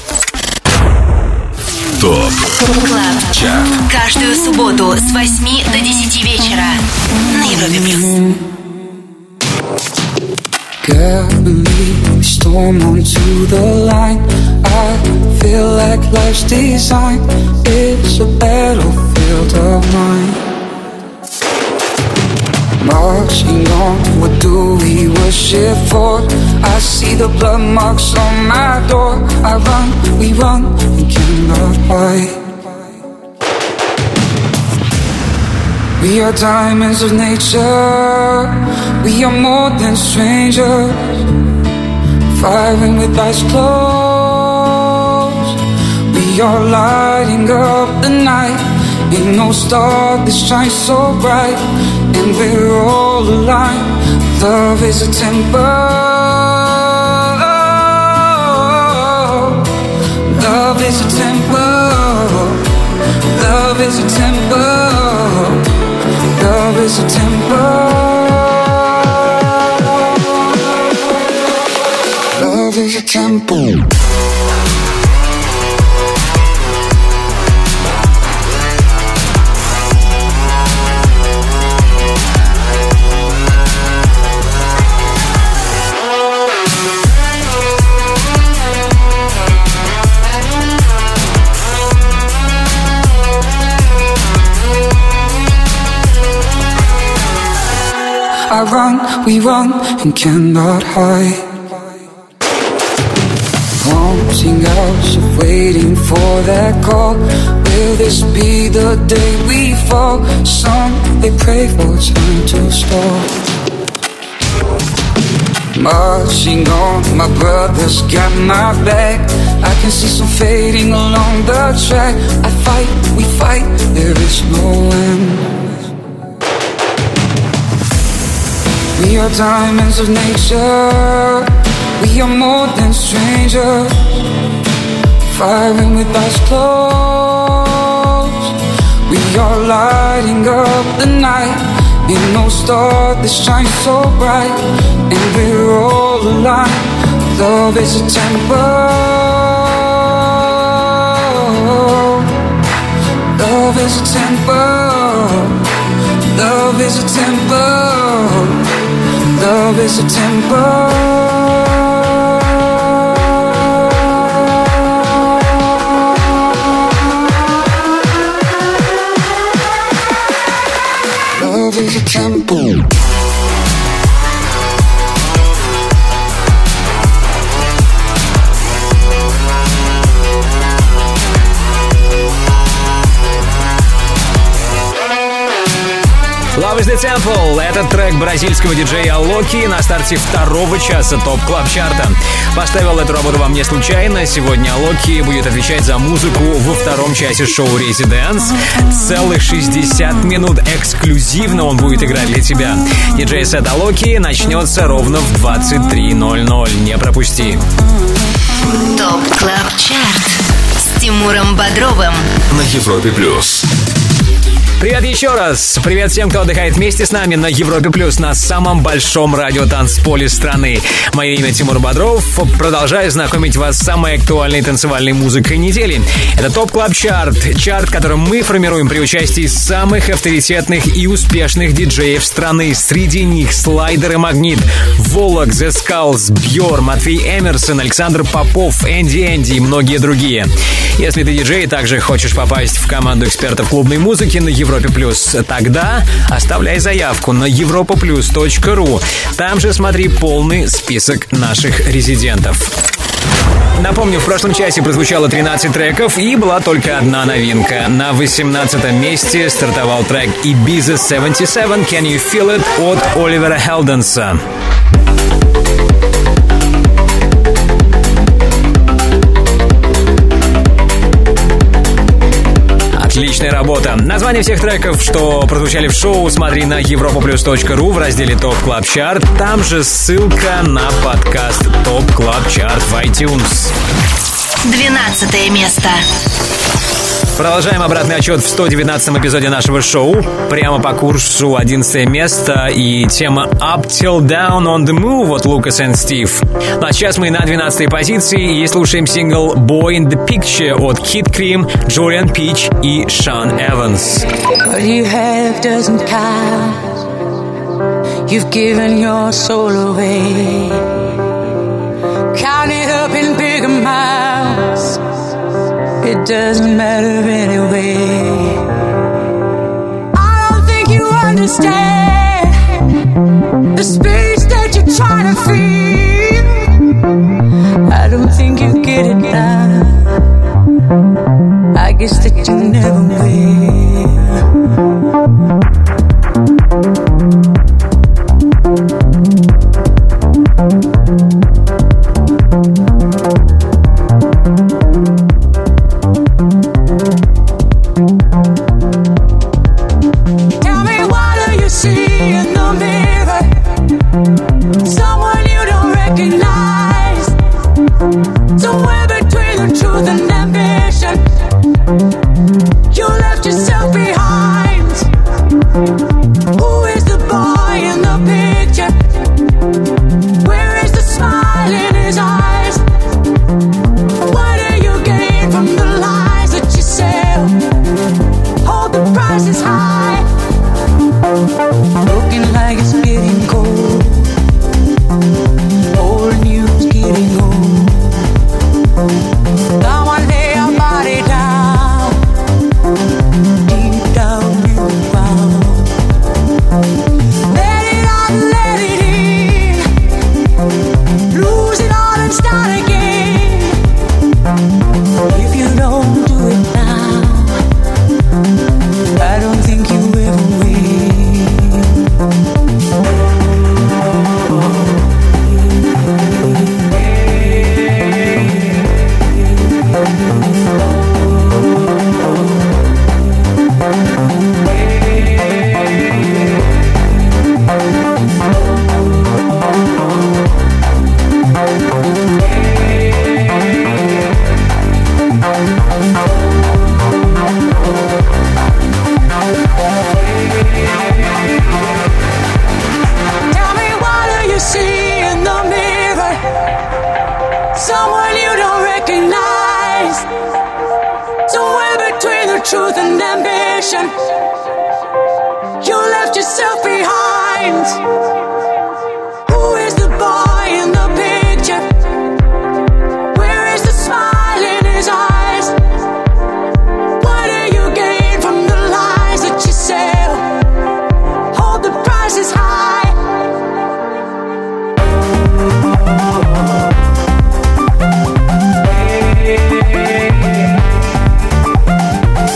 ТОП Клаб Чарт. Каждую субботу с восьми до десяти вечера на Европе Плюс. Can't believe we storm onto the line. I feel like life's design is a battlefield of mine. Marching on, what do we worship for? I see the blood marks on my door. I run, we run, we cannot hide. We are diamonds of nature. We are more than strangers. Firing with eyes closed. We are lighting up the night. Ain't no star that shines so bright. And we're all aligned. Love is a temple. Love is a temple. Love is a temple. Love is a temple. Love is a temple. I run, we run, and cannot hide. Wanting hours of waiting for that call. Will this be the day we fall? Some, they pray for time to stall. Marching on, my brothers got my back. I can see some fading along the track. I fight, we fight, there is no end. We are diamonds of nature. We are more than strangers. Firing with eyes closed. We are lighting up the night. Ain't no star that shines so bright. And we're all aligned. Love is a temple. Love is a temple. Love is a temple. Love is a temple. Love is a temple. Love is the Temple. Этот трек бразильского диджея Локи на старте второго часа ТОП Клаб Чарта. Поставил эту работу вам не случайно. Сегодня Локи будет отвечать за музыку во втором часе шоу Residents. Целых шестьдесят минут эксклюзивно он будет играть для тебя. Диджей-сет Локи начнется ровно в двадцать три ноль ноль. Не пропусти. ТОП Клаб Чарт с Тимуром Бодровым на Европе Плюс. Привет еще раз. Привет всем, кто отдыхает вместе с нами на Европе Плюс, на самом большом радиотанцполе страны. Мое имя Тимур Бодров. Продолжаю знакомить вас с самой актуальной танцевальной музыкой недели. Это ТОП Клаб Чарт. Чарт, который мы формируем при участии самых авторитетных и успешных диджеев страны. Среди них Слайдер и Магнит, Волок, The Skulls, Бьор, Матвей Эмерсон, Александр Попов, Энди Энди и многие другие. Если ты диджей и также хочешь попасть в команду экспертов клубной музыки на Европе Плюс, тогда оставляй заявку на европа плюс точка ру. Там же смотри полный список наших резидентов. Напомню, в прошлом часе прозвучало тринадцать треков и была только одна новинка. На восемнадцатом месте стартовал трек Ibiza семьдесят семь Can You Feel It от Оливера Хелденса. Отличная работа. Название всех треков, что прозвучали в шоу, смотри на европа плюс точка ру в разделе ТОП Клаб Чарт. Там же ссылка на подкаст ТОП Клаб Чарт в iTunes. Двенадцатое место. Продолжаем обратный отчет в сто девятнадцатом эпизоде нашего шоу. Прямо по курсу одиннадцатое место и тема Up Till Down on the Move от Lucas and Steve. Ну а сейчас мы на двенадцатой позиции и слушаем сингл Boy in the Picture от Kid Cream, Julian Peach и Sean Evans. What you have doesn't count. You've given your soul away. Count it up in big amounts. It doesn't matter anyway. I don't think you understand the space that you're trying to feel. I don't think you get it now. I guess that you never will.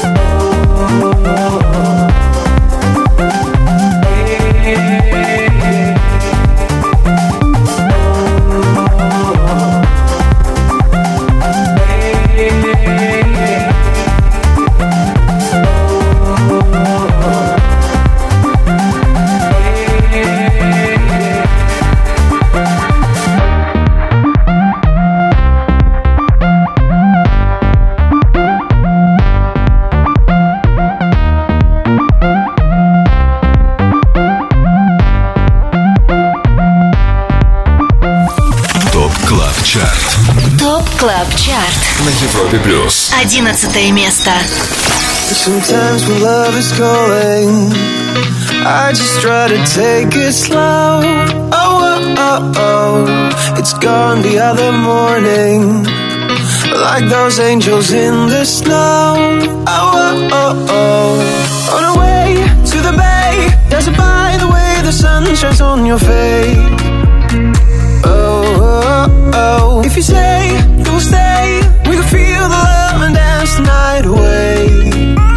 Hey Клаб Чарт на Европе плюс. Одиннадцатое место. Sometimes when love is calling, I just try to take it slow. Oh, oh, oh, oh. It's gone the other morning, like those angels in the snow. Oh, oh, oh, oh. On our way to the bay, there's a by the way the sun shines on your face. Oh, oh, oh. If you say you'll stay, we can feel the love and dance the night away.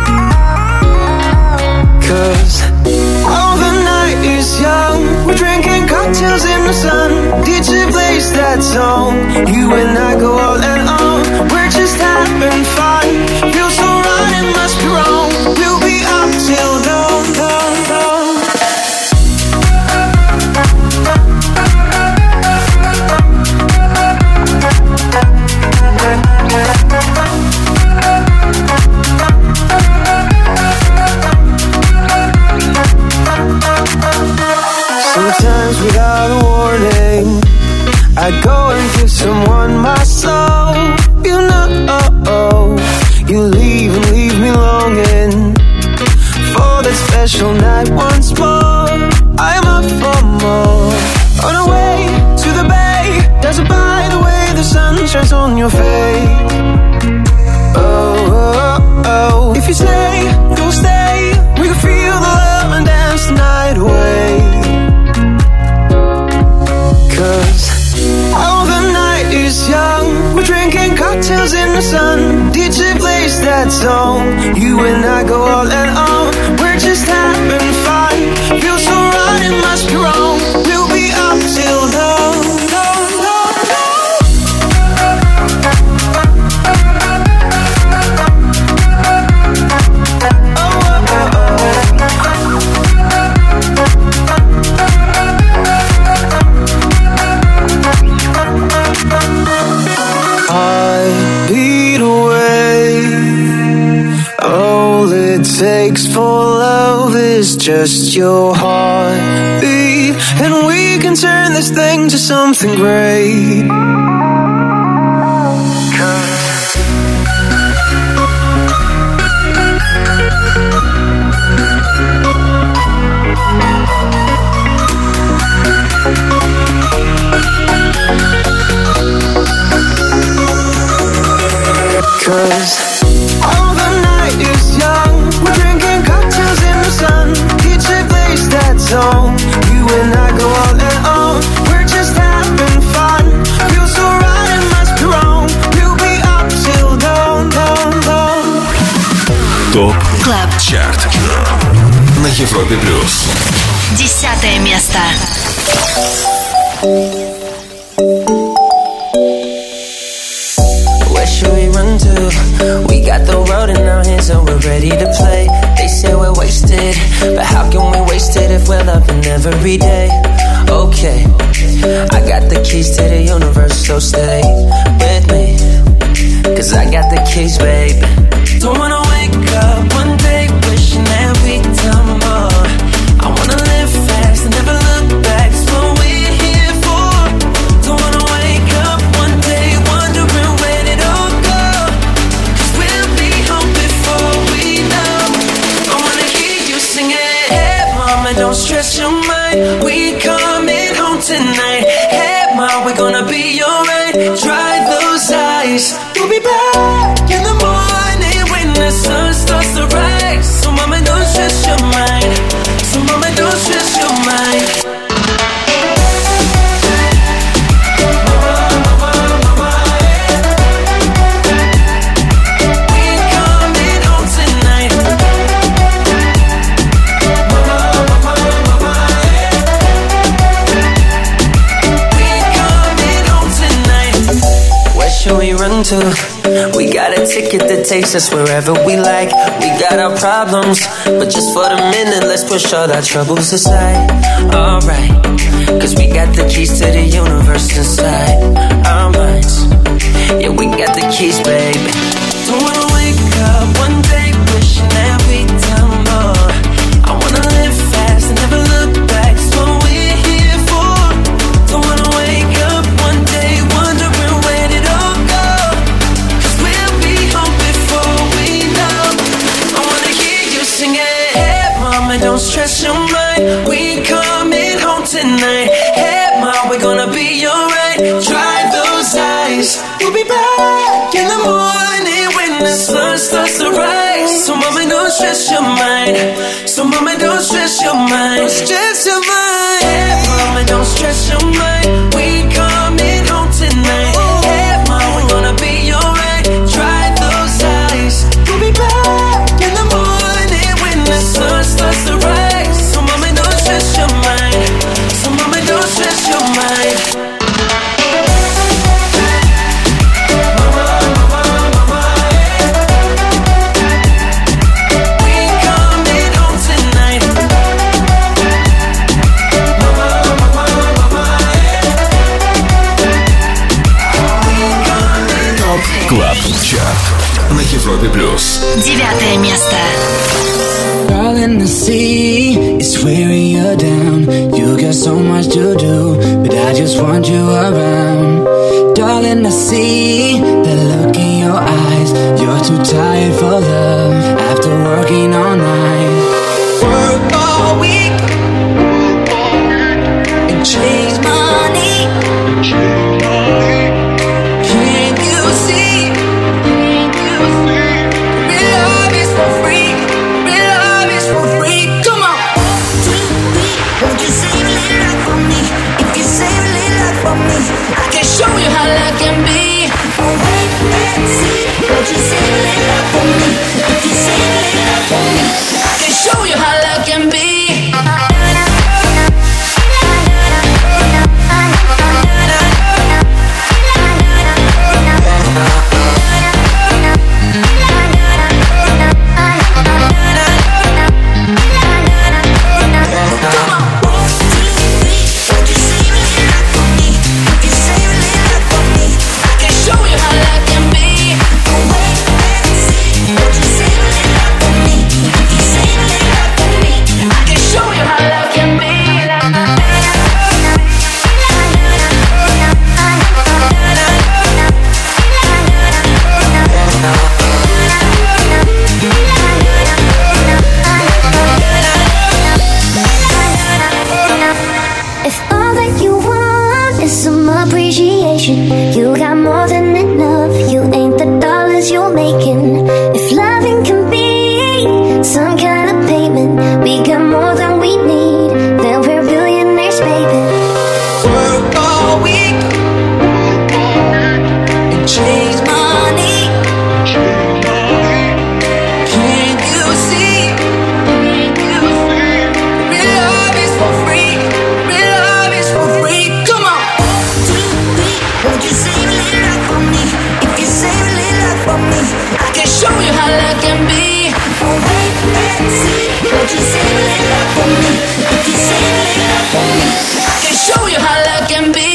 Cause all the night is young, we're drinking cocktails in the sun. D J plays that song, you and I go all and on. We're just having fun, feels so right, it must be wrong. We'll be up till dawn, dawn, dawn. Sometimes without a warning, I go and give someone my soul. You know, you leave and leave me longing for that special night once more. I'm up for more. On our way to the bay, there's a by the way the sun shines on your face. Oh, oh, oh. If you say you'll stay, we can feel the love and dance the night away. Cause all the night is young, we're drinking cocktails in the sun. D J plays that song, you and I go all and on. We're just having fun, feels so right, it must be wrong. We'll be up till dawn, dawn, dawn, beat away. All it takes for love is just your heartbeat, and we can turn this thing to something great. Cause all the night is young, we're drinking cocktails in the sun. D J plays that song, you and I go all and on. We're just having fun, feels so right, it must be wrong. We'll be up till dawn, dawn, dawn. Топ Клаб Чарт на Европе плюс. Десятое место. We got the world in our hands and we're ready to play. They say we're wasted, but how can we waste it if we're loving every day? Okay, I got the keys to the universe, so stay with me, cause I got the keys, babe. Don't wanna wake up one day wishing that we'd done more. I wanna live fast and never look back, it's what we're here for. Don't wanna wake up one day wondering where it all go. Don't stress your mind, we coming home tonight. Hey ma, we're gonna be alright. Dry those eyes, we'll be back in the morning when the sun starts to rise. So mama, don't stress your mind. So mama, don't stress your mind. To. We got a ticket that takes us wherever we like. We got our problems, but just for the minute, let's push all our troubles aside. Alright, cause we got the keys to the universe inside our minds. Yeah, we got the keys, baby. Don't wanna wake up one day wishing that we'd done more. I wanna live fast and never look back, it's what we're here for. Don't wanna wake up one day wondering where did it all go. the sun starts to rise. So mama, don't stress your mind. So mama, don't stress your mind. Don't stress your mind. Yeah, mama, don't stress your mind. We coming home tonight. Yeah, mama, we're gonna be alright. Dry those eyes. We'll be back in the morning when the sun starts to rise. So mama, don't stress your mind. So mama, don't stress your mind. Клаб Чарт на Европе плюс. Девятое место. Darling, I see it's wearing you down. You got so much to do, but I just want you around. Darling, I see the look in your eyes. You're too tired for love after working all night. Work all week and chase money. Can't you see? Can't you see? Real love is for free. Real love is for free. Come on. Won't you save a little love for me? If you save a little love for me, I can show you how love can be. Oh wait and see. Won't you save a little love for me? If you save a little love for me, I can show you how love can be. You got more than enough. You ain't the dollars you're making. If loving can be some kind of payment, we got more than we need. Then we're billionaires, baby. Work all week and chase money. Can't you see? Real love is for free. Real love is for free. Come on. Won't you save a little love for me? If you save a little love for me, I can show you how love can be. oh wait and see. Won't you save a little love for me? If you save a little love for me, I can show you how love can be.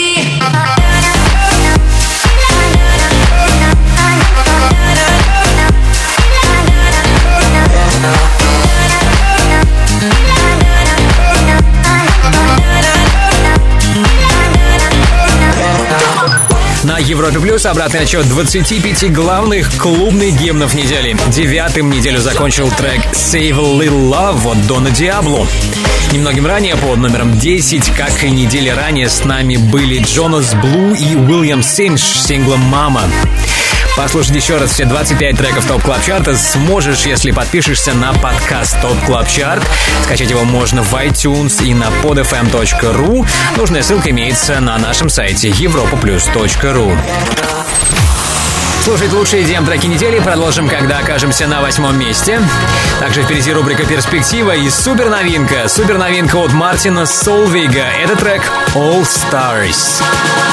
На Европе Плюс обратный отчет двадцати пяти главных клубных гимнов недели. Девятым неделю закончил трек Save a Little Love от Дона Диабло. Немногим ранее, под номером десять, как и недели ранее, с нами были Джонас Блу и Уильям Синдж с синглом «Мама». Послушать еще раз все двадцать пять треков ТОП Клаб Чарта сможешь, если подпишешься на подкаст ТОП Клаб Чарт. Скачать его можно в iTunes и на под эф эм точка ру. Нужная ссылка имеется на нашем сайте европа плюс точка ру. Слушать лучшие ди эм-треки недели продолжим, когда окажемся на восьмом месте. Также впереди рубрика «Перспектива» и суперновинка. Суперновинка от Мартина Солвейга. Это трек «All Stars».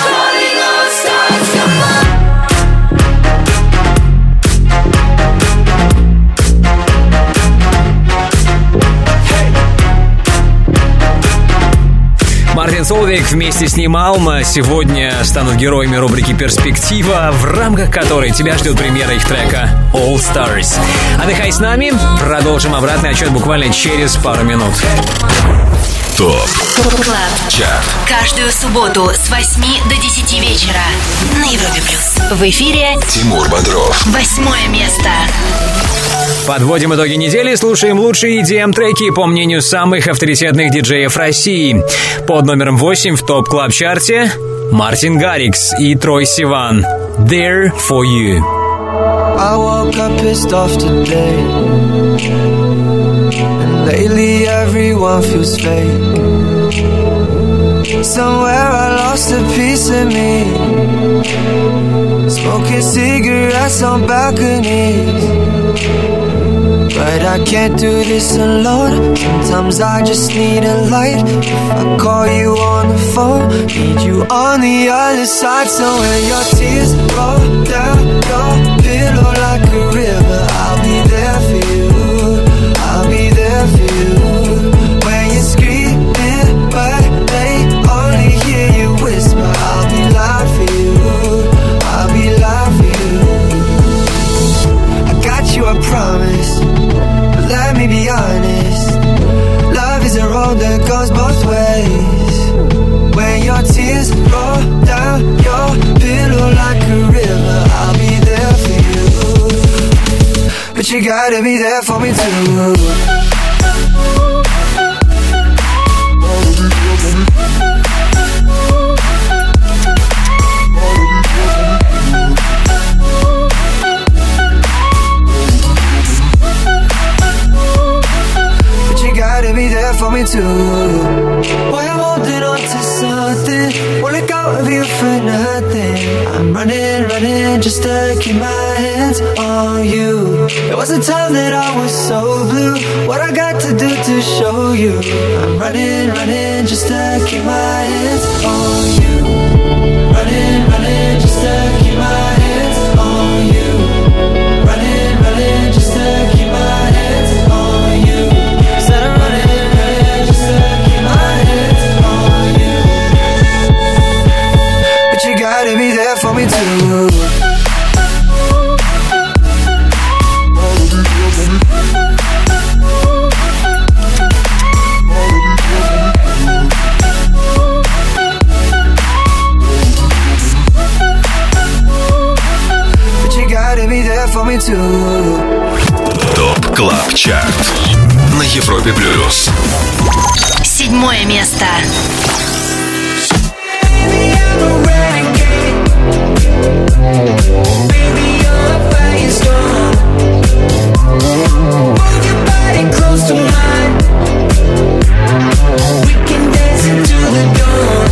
Мартин Солвейг вместе с ним Алма сегодня станут героями рубрики «Перспектива», в рамках которой тебя ждет премьера их трека «All Stars». Отдыхай с нами, продолжим обратный отчет буквально через пару минут. ТОП Клаб Чарт. Каждую субботу с восьми до десяти вечера на Европе Плюс. В эфире Тимур Бодров. Восьмое место. Подводим итоги недели, слушаем лучшие и ди эм-треки по мнению самых авторитетных диджеев России. Под номером восемь в ТОП Клаб Чарте Мартин Гаррикс и Трой Сиван. There for you. I woke up pissed off today, and lately everyone feels fake. Somewhere I lost a piece of me, smoking cigarettes on balconies. But I can't do this alone. Sometimes I just need a light. If I call you on the phone, need you on the other side. So when your tears roll down your pillow like a river, I'll be there for you, I'll be there for you. When you're screaming but they only hear you whisper, I'll be loud for you, I'll be loud for you. I got you, I promise. Let me be honest, love is a road that goes both ways. When your tears roll down your pillow like a river, I'll be there for you, but you gotta be there for me too. For me too. Boy, I'm holding on to something, won't let go of you for nothing. I'm running, running just to keep my hands on you. There was a time that I was so blue. What I got to do to show you? I'm running, running just to keep my hands on you. Running, running just to keep my hands on you. Running, running just to keep my hands on you. Said I'm running. Gotta be there for me too. But you gotta be there for me too. ТОП КЛАБ ЧАРТ на Европе плюс. Седьмое место. Baby, you're a firestorm. Move your body close to mine. We can dance into the dawn.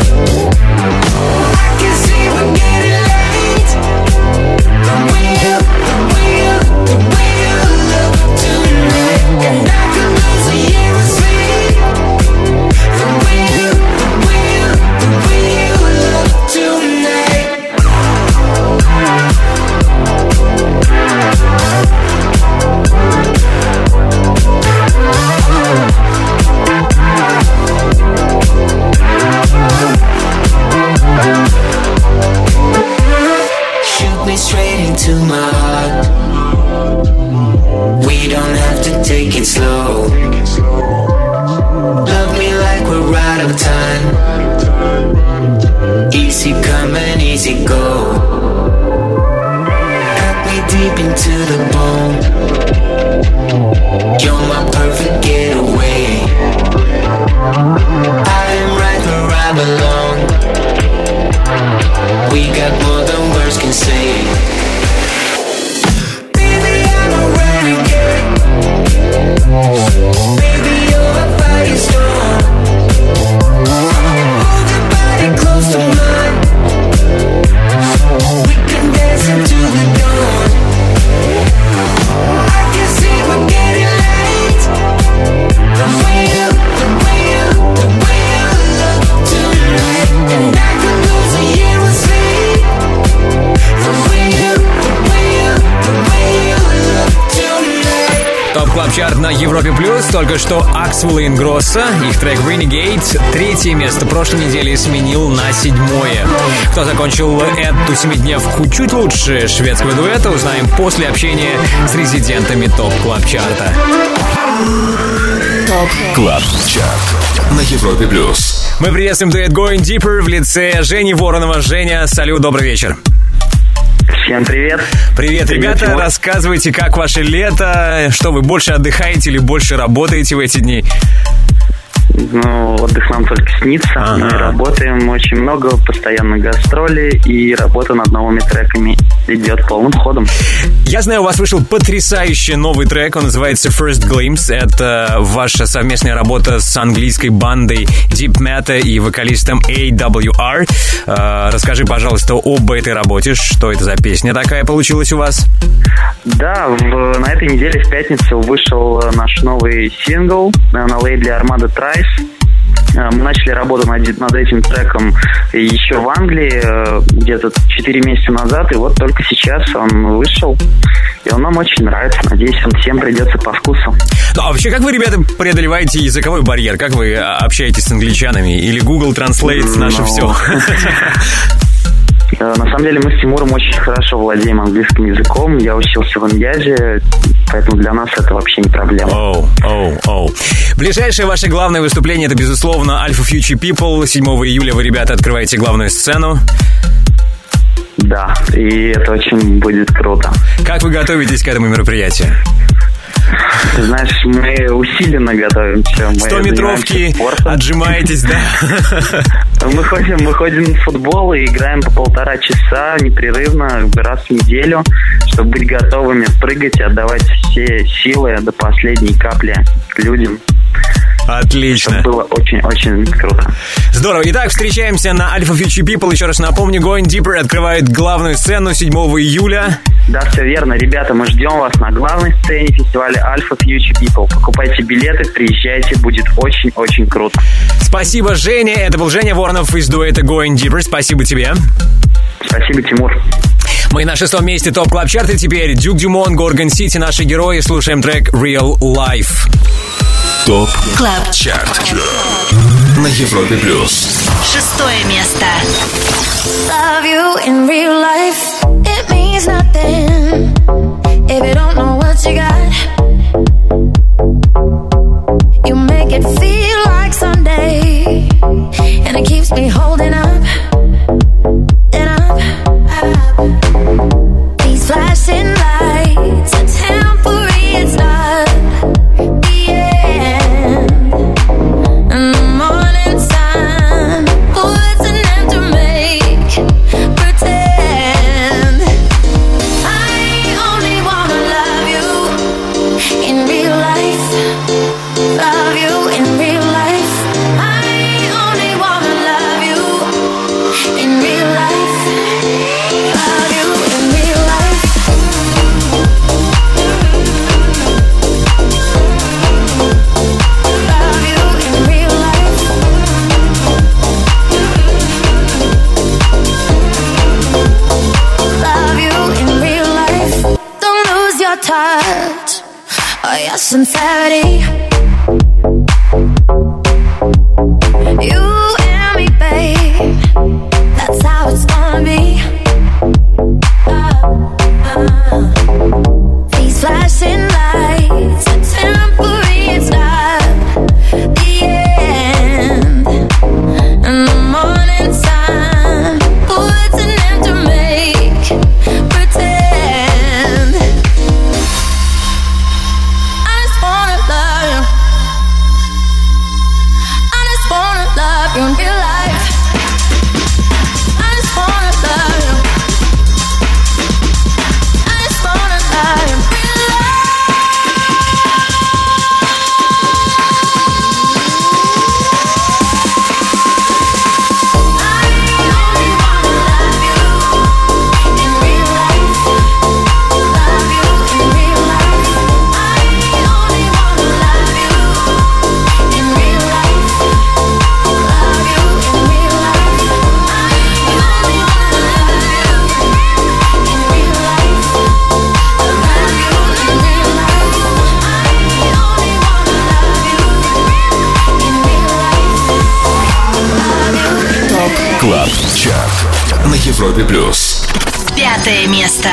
I can see we're getting late. The way you, the way you, the way you look tonight, and I could lose a year of sleep. The way you, the way you, the way you look tonight. Shoot me straight into my heart. We don't have to take it slow. Love me like we're out of time. Easy come and easy go. Deep into the bone. You're my perfect getaway. I am right where I belong. We got more than words can say. Baby, I'm a renegade. Baby, you're a firestorm. Hold your body close to mine. We can dance into the dawn. I can see we're getting late. The way you, the way you, the way you look tonight, and I could lose a year of sleep. The way you, the way you, the way you look tonight. ТОП КЛАБ ЧАРТ на Европе плюс. Только что Axwell и Ingrosso. Их трек Renegade третье место прошлой недели сменил на седьмое. Кто закончил эту семидневку чуть лучше шведского дуэта, узнаем после общения с резидентами ТОП КЛАБ ЧАРТа. ТОП КЛАБ ЧАРТ на Европе плюс. Мы приветствуем дуэт Going Deeper в лице Жени Воронова. Женя, салют, добрый вечер. Всем привет. Привет, ребята. Привет, рассказывайте, как ваше лето, что вы больше отдыхаете или больше работаете в эти дни? Ну, отдых нам только снится. Ага. Мы работаем очень много, постоянно гастроли, и работа над новыми треками идет полным ходом. Я знаю, у вас вышел потрясающий новый трек, он называется First Glimpse. Это ваша совместная работа с английской бандой Deep Meta и вокалистом эй дабл ю ар. Э, расскажи, пожалуйста, об этой работе. Что это за песня такая получилась у вас? Да, в, на этой неделе в пятницу вышел наш новый сингл на лейбле Armada Trice. Мы начали работу над, над этим треком еще в Англии где-то четыре месяца назад, и вот только сейчас он вышел, и он нам очень нравится. Надеюсь, он всем придется по вкусу. Ну, а вообще, как вы, ребята, преодолеваете языковой барьер? Как вы общаетесь с англичанами? Или Google Translate наше Ну, все? На самом деле мы с Тимуром очень хорошо владеем английским языком. Я учился в Иньязе, поэтому для нас это вообще не проблема. Оу, оу, оу. Ближайшее ваше главное выступление — это, безусловно, Alpha Future People. седьмого июля вы, ребята, открываете главную сцену. Да, и это очень будет круто. Как вы готовитесь к этому мероприятию? Ты знаешь, мы усиленно готовимся. Сто-метровки, отжимаетесь, да? Мы ходим, мы ходим в футбол и играем по полтора часа непрерывно, раз в неделю, чтобы быть готовыми прыгать и отдавать все силы до последней капли людям. Отлично. Это было очень-очень круто. Здорово. Итак, встречаемся на Alpha Future People. Еще раз напомню, Going Deeper открывает главную сцену седьмого июля. Да, все верно. Ребята, мы ждем вас на главной сцене фестиваля Alpha Future People. Покупайте билеты, приезжайте, будет очень-очень круто. Спасибо, Женя. Это был Женя Воронов из дуэта Going Deeper. Спасибо тебе. Спасибо, Тимур. Мы на шестом месте ТОП Клаб Чарта. Теперь Дюк Дюмон, Горгон Сити, наши герои. Слушаем трек Real Life. ТОП Клаб Чарт на Европе плюс. Шестое место. Love you in real life, it means nothing if you don't know what you got. You make it feel like someday, and it keeps me holding up, and up. These flashing lights are temporary, it's not the end. And the morning sun puts an end to make pretend. I only wanna love you in real life. Love you in real life. I only wanna love you in real life. Love you in real life. Love you in real life. Love you in real life. Don't lose your touch or your sincerity. You and me, babe, that's how it's gonna be. Uh, uh. These flashing lights are temporary, it's not the end. And the morning sun puts an end to make pretend. I just wanna love you. I just wanna love you in real life. I just wanna love you. I just wanna love you in real Клаб Чарт на Европе плюс. Пятое место.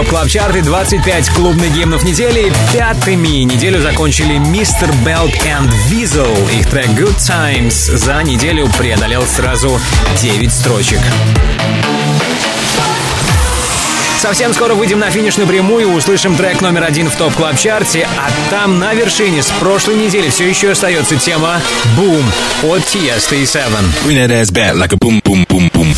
Клаб Чарт и двадцать пять клубных гимнов недели. Пятыми неделю закончили мистер Белк и Weasel. Их трек Good Times за неделю преодолел сразу девять строчек. Совсем скоро выйдем на финишную прямую, услышим трек номер один в ТОП Клаб Чарте, а там на вершине с прошлой недели все еще остается тема «Boom» от Tiesto и Seven. Bring that ass back like a boom, boom, boom, boom.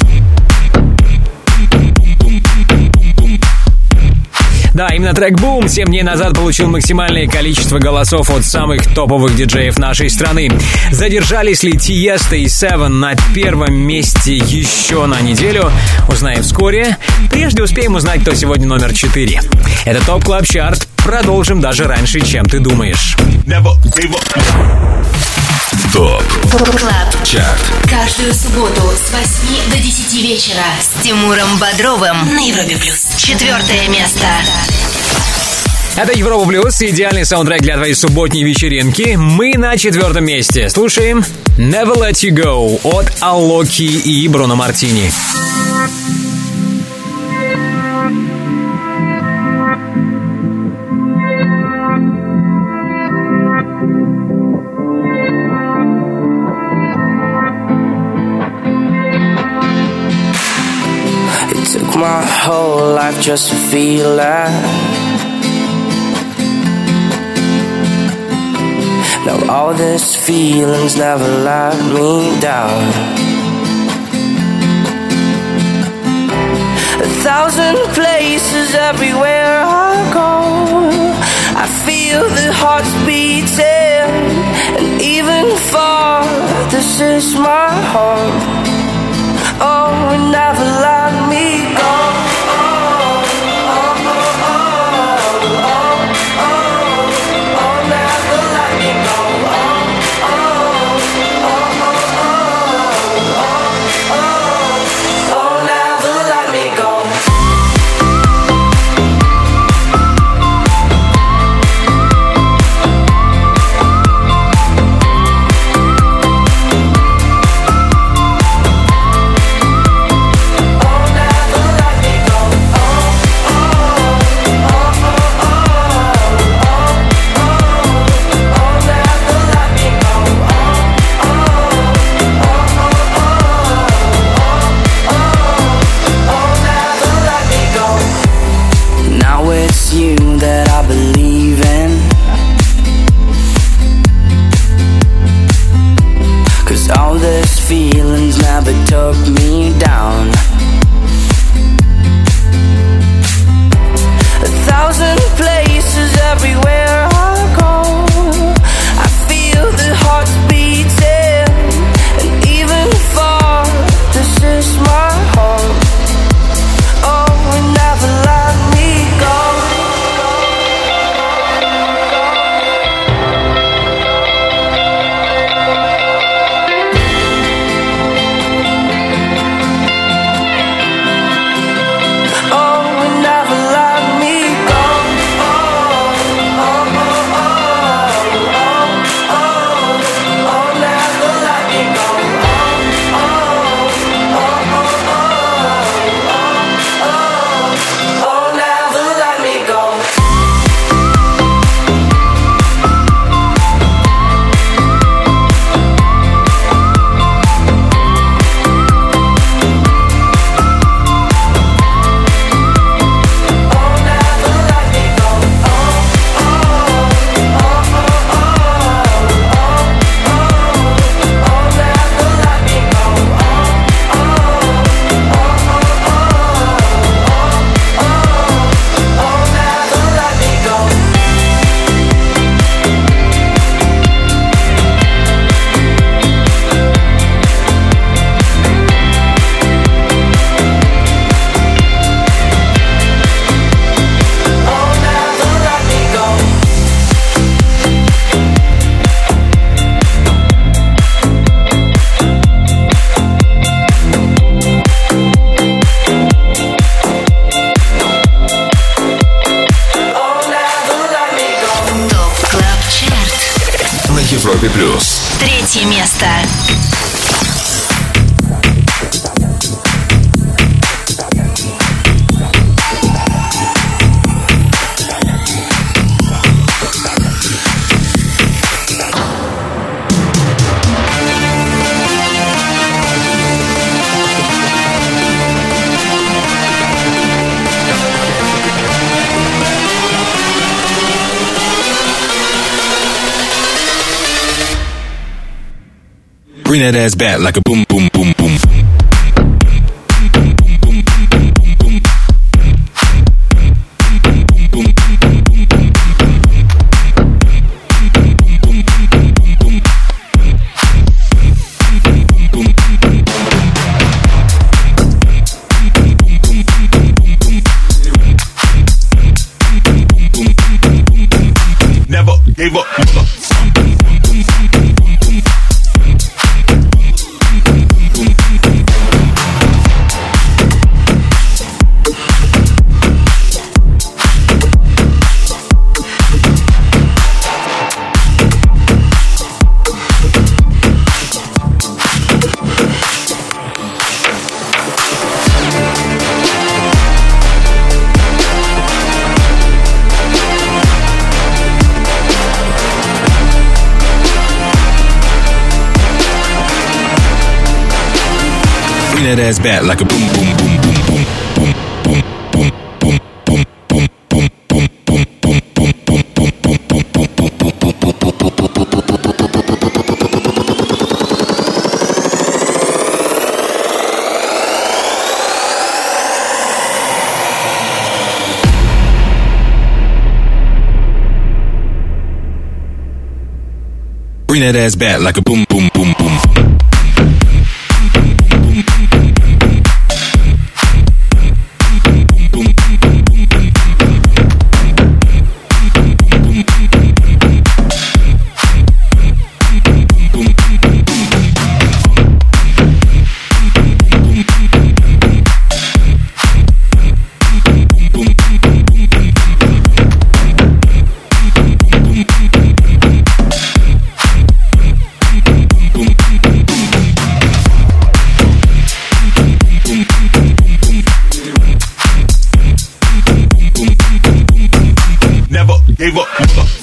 Да, именно трек «Boom» семь дней назад получил максимальное количество голосов от самых топовых диджеев нашей страны. Задержались ли Tiesto и Seven на первом месте еще на неделю? Узнаем вскоре. Прежде успеем узнать, кто сегодня номер четыре. Это ТОП Клаб Чарт. Продолжим даже раньше, чем ты думаешь. ТОП Клаб Чарт. Каждую субботу с восьми до десяти вечера с Тимуром Бодровым на Европе Плюс. Четвертое место. Это Европа Плюс, идеальный саундтрек для твоей субботней вечеринки. Мы на четвертом месте. Слушаем Never Let You Go от Алоки и Бруно Мартини. My whole life just to feel that. Now all these feelings never let me down. A thousand places everywhere I go, I feel the hearts beating, and even far, this is my home. Oh, never let me go. Took me down. A thousand places everywhere I go, I feel the hearts beating, and even far, this is my home. Oh, never let me go. Европе плюс. Третье место. Bring that ass back like a boom, boom, boom, boom. Never gave up. Bring that ass back like a boom, boom, boom, boom, boom, boom, boom, boom, boom, boom, boom, boom, boom, boom, boom, boom, boom, boom, boom, Bring that ass back like a boom, boom, boom, boom. Gave up.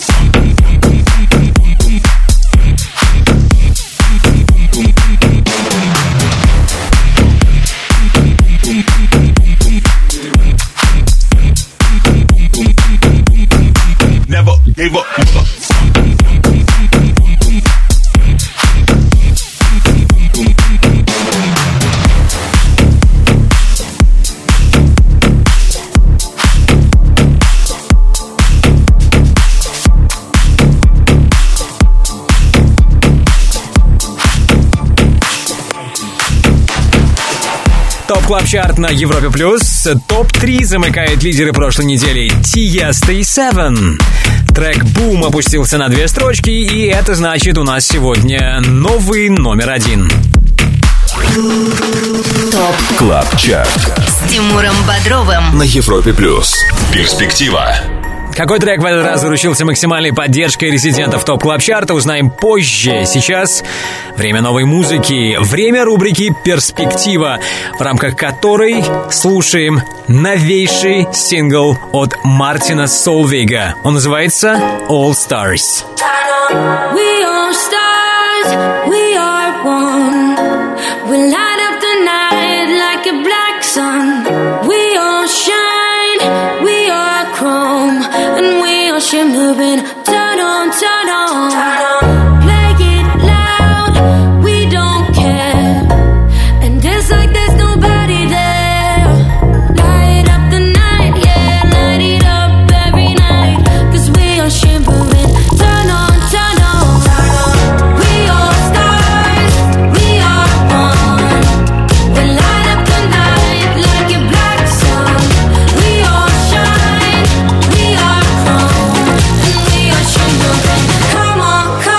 Never gave up. Топ Клаб Чарт на Европе Плюс. Топ три замыкает лидеры прошлой недели. Тиеста и Севен. Трек «Бум» опустился на две строчки, и это значит, у нас сегодня новый номер один. Топ Клаб Чарт с Тимуром Бодровым на Европе Плюс. Перспектива. Какой трек в этот раз заручился максимальной поддержкой резидентов ТОП Клаб Чарта, узнаем позже. Сейчас время новой музыки, время рубрики «Перспектива», в рамках которой слушаем новейший сингл от Мартина Солвейга. Он называется «All Stars». We are stars, we are one. We light up the night like a black sun. We all shine, we are chrome, and we are shimmering. Turn on, turn on. Play it loud, we don't care. And dance like there's nobody there. Light up the night, yeah, light it up every night. 'Cause we are shimmering. Turn on, turn on. We are stars, we are one. We light up the night like a black sun. We all shine, we are chrome, and we are shimmering. Come on, come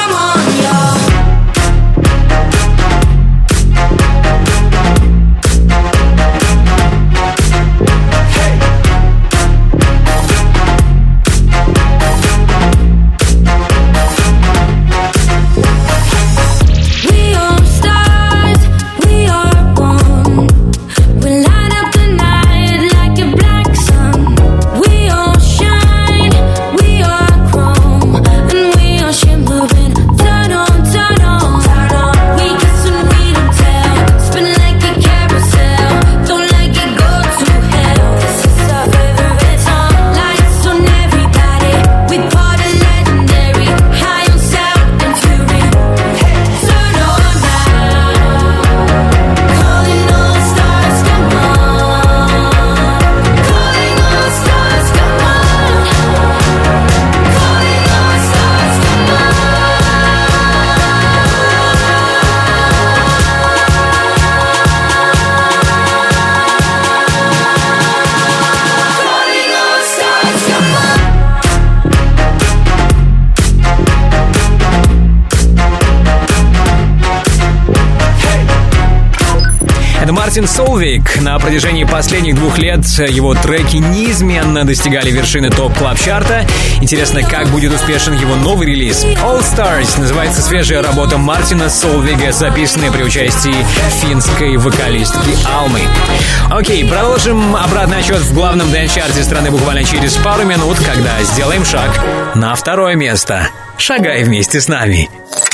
Мартин Солвейг. На протяжении последних двух лет его треки неизменно достигали вершины топ-клаб-чарта. Интересно, как будет успешен его новый релиз. All Stars называется свежая работа Мартина Солвейга, записанная при участии финской вокалистки Алмы. Окей, продолжим обратный отчет в главном дэнс-чарте страны буквально через пару минут, когда сделаем шаг на второе место. Шагай вместе с нами.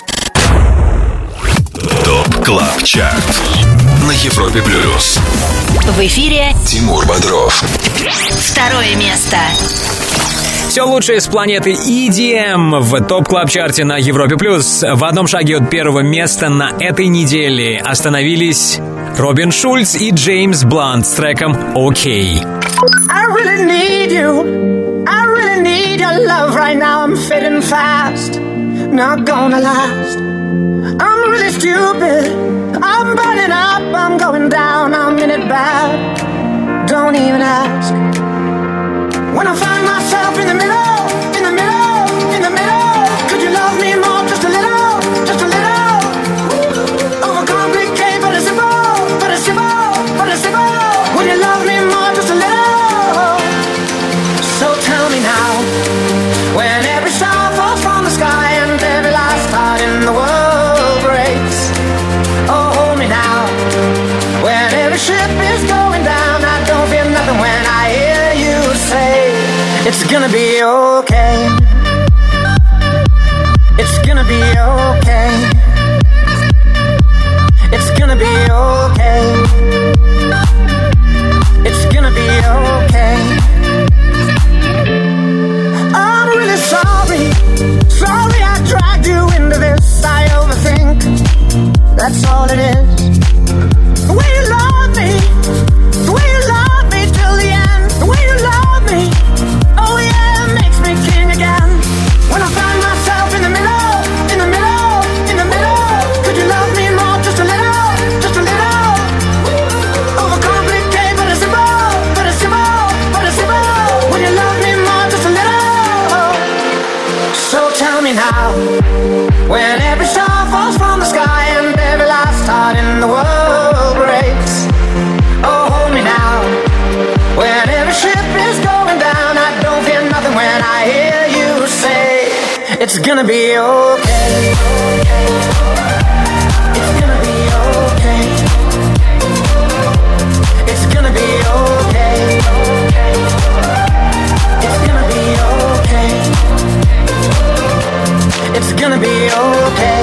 ТОП КЛАБ ЧАРТ на Европе Плюс. В эфире Тимур Бодров. второе место. Все лучшее с планеты и ди эм в топ-клаб-чарте на Европе+. плюс. В одном шаге от первого места на этой неделе остановились Робин Шульц и Джеймс Блант с треком «Окей». I really need you. I really need your love right now. I'm fading fast. Not gonna last. I'm really stupid. I'm burning up. I'm going down. I'm in it bad. Don't even ask. When I find myself in the middle, in the middle, in the middle, could you love me more? Just a little, just a little. Overcomplicate, but it's simple, but it's simple, but it's simple. Would you love me more? Just a little. So tell me now, when every star falls from the sky and every last heart in the world breaks. Oh, hold me now, when every ship is going down. I don't feel nothing when I hear you say it's gonna be okay. It's gonna be okay. It's gonna be okay. It's gonna be okay. I'm really sorry. Sorry I dragged you into this. I overthink. That's all it is. The way you love me, the way you love me till the end, the way you love me, oh yeah, it makes me king again. When I find myself in the middle, in the middle, in the middle, could you love me more? Just a little, just a little. Overcomplicate, but it's simple, but it's simple, but it's simple. Would you love me more? Just a little. So tell me now, when every star falls from the sky and every last heart in the world breaks. Oh, hold me now, when every ship is going down. I don't feel nothing when I hear you say it's gonna be okay. It's gonna be okay. It's gonna be okay. It's gonna be okay. It's gonna be okay.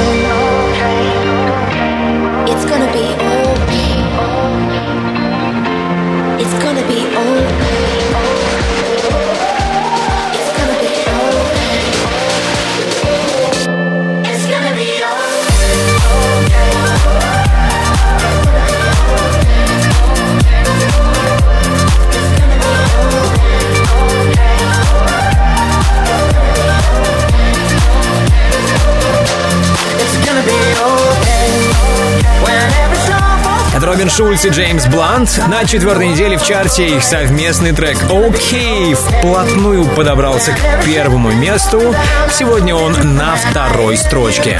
It's gonna be okay. It's gonna be okay. It's gonna be okay. It's gonna be Это Робин Шульц и Джеймс Блант. На четвертой неделе в чарте их совместный трек «Окей» вплотную подобрался к первому месту. Сегодня он на второй строчке.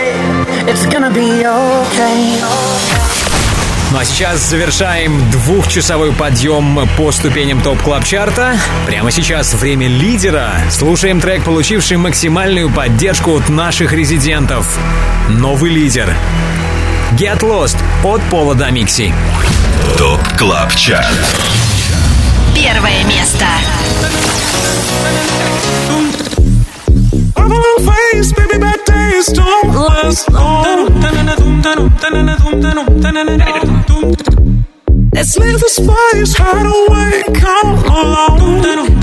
Ну а сейчас завершаем двухчасовой подъем по ступеням топ-клаб-чарта. Прямо сейчас время лидера. Слушаем трек, получивший максимальную поддержку от наших резидентов. Новый лидер. Get Lost от Пола Дамикси. ТОП-клаб-чарт. Первое место. Face, baby, bad days don't last long. Let's leave the space, hide away, come along.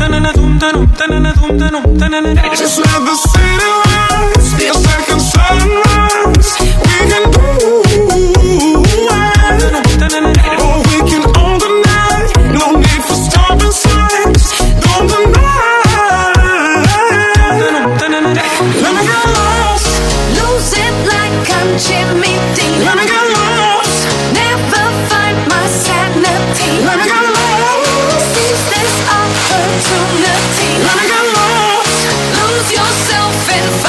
Just let the city rise, be a second sunrise. We can do it, or we can own the night. No need for stopping signs, don't deny. Let me get lost, lose it like I'm Jimmy Dean. let me get lost, Never find my sanity. let me get lost, Seize this opportunity. let me get lost. Lose yourself and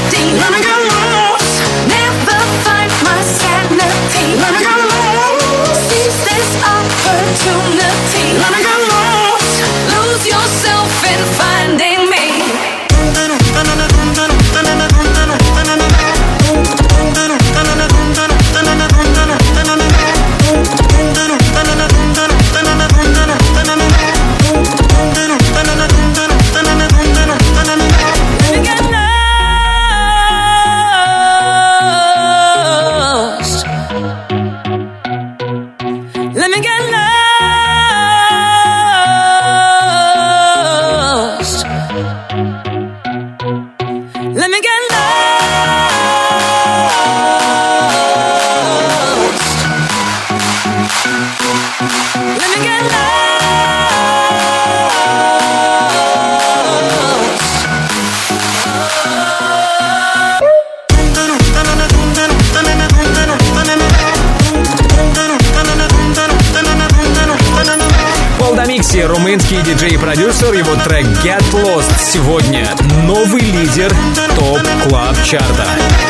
melody. Let me get lost. Never find my sanity. Let me get lost. Seize this opportunity. Let me get lost. Lose yourself in finding me. Румынский диджей и продюсер, его трек Get Lost сегодня новый лидер ТОП Клаб Чарта.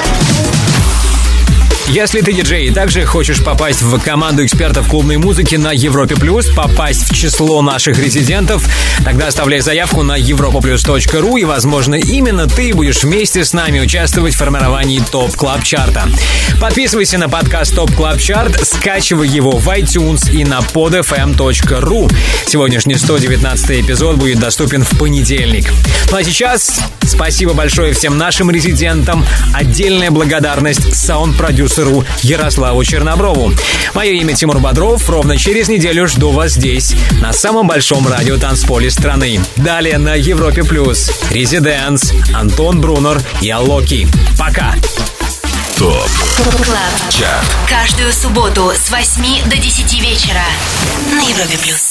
Если ты диджей и также хочешь попасть в команду экспертов клубной музыки на Европе Плюс, попасть в число наших резидентов, тогда оставляй заявку на европа плюс точка ру, и, возможно, именно ты будешь вместе с нами участвовать в формировании ТОП Клаб Чарта. Подписывайся на подкаст ТОП Клаб Чарт, скачивай его в iTunes и на под эф эм точка ру. Сегодняшний сто девятнадцатый эпизод будет доступен в понедельник. Ну а сейчас спасибо большое всем нашим резидентам. Отдельная благодарность саунд-продюсеру Ярославу Черноброву. Мое имя Тимур Бодров. Ровно через неделю жду вас здесь, на самом большом радиотанцполе страны. Далее на Европе Плюс Резиденс, Антон Брунер и Алоки. Пока! ТОП Клаб. Чарт. Каждую субботу с восьми до десяти вечера на Европе Плюс.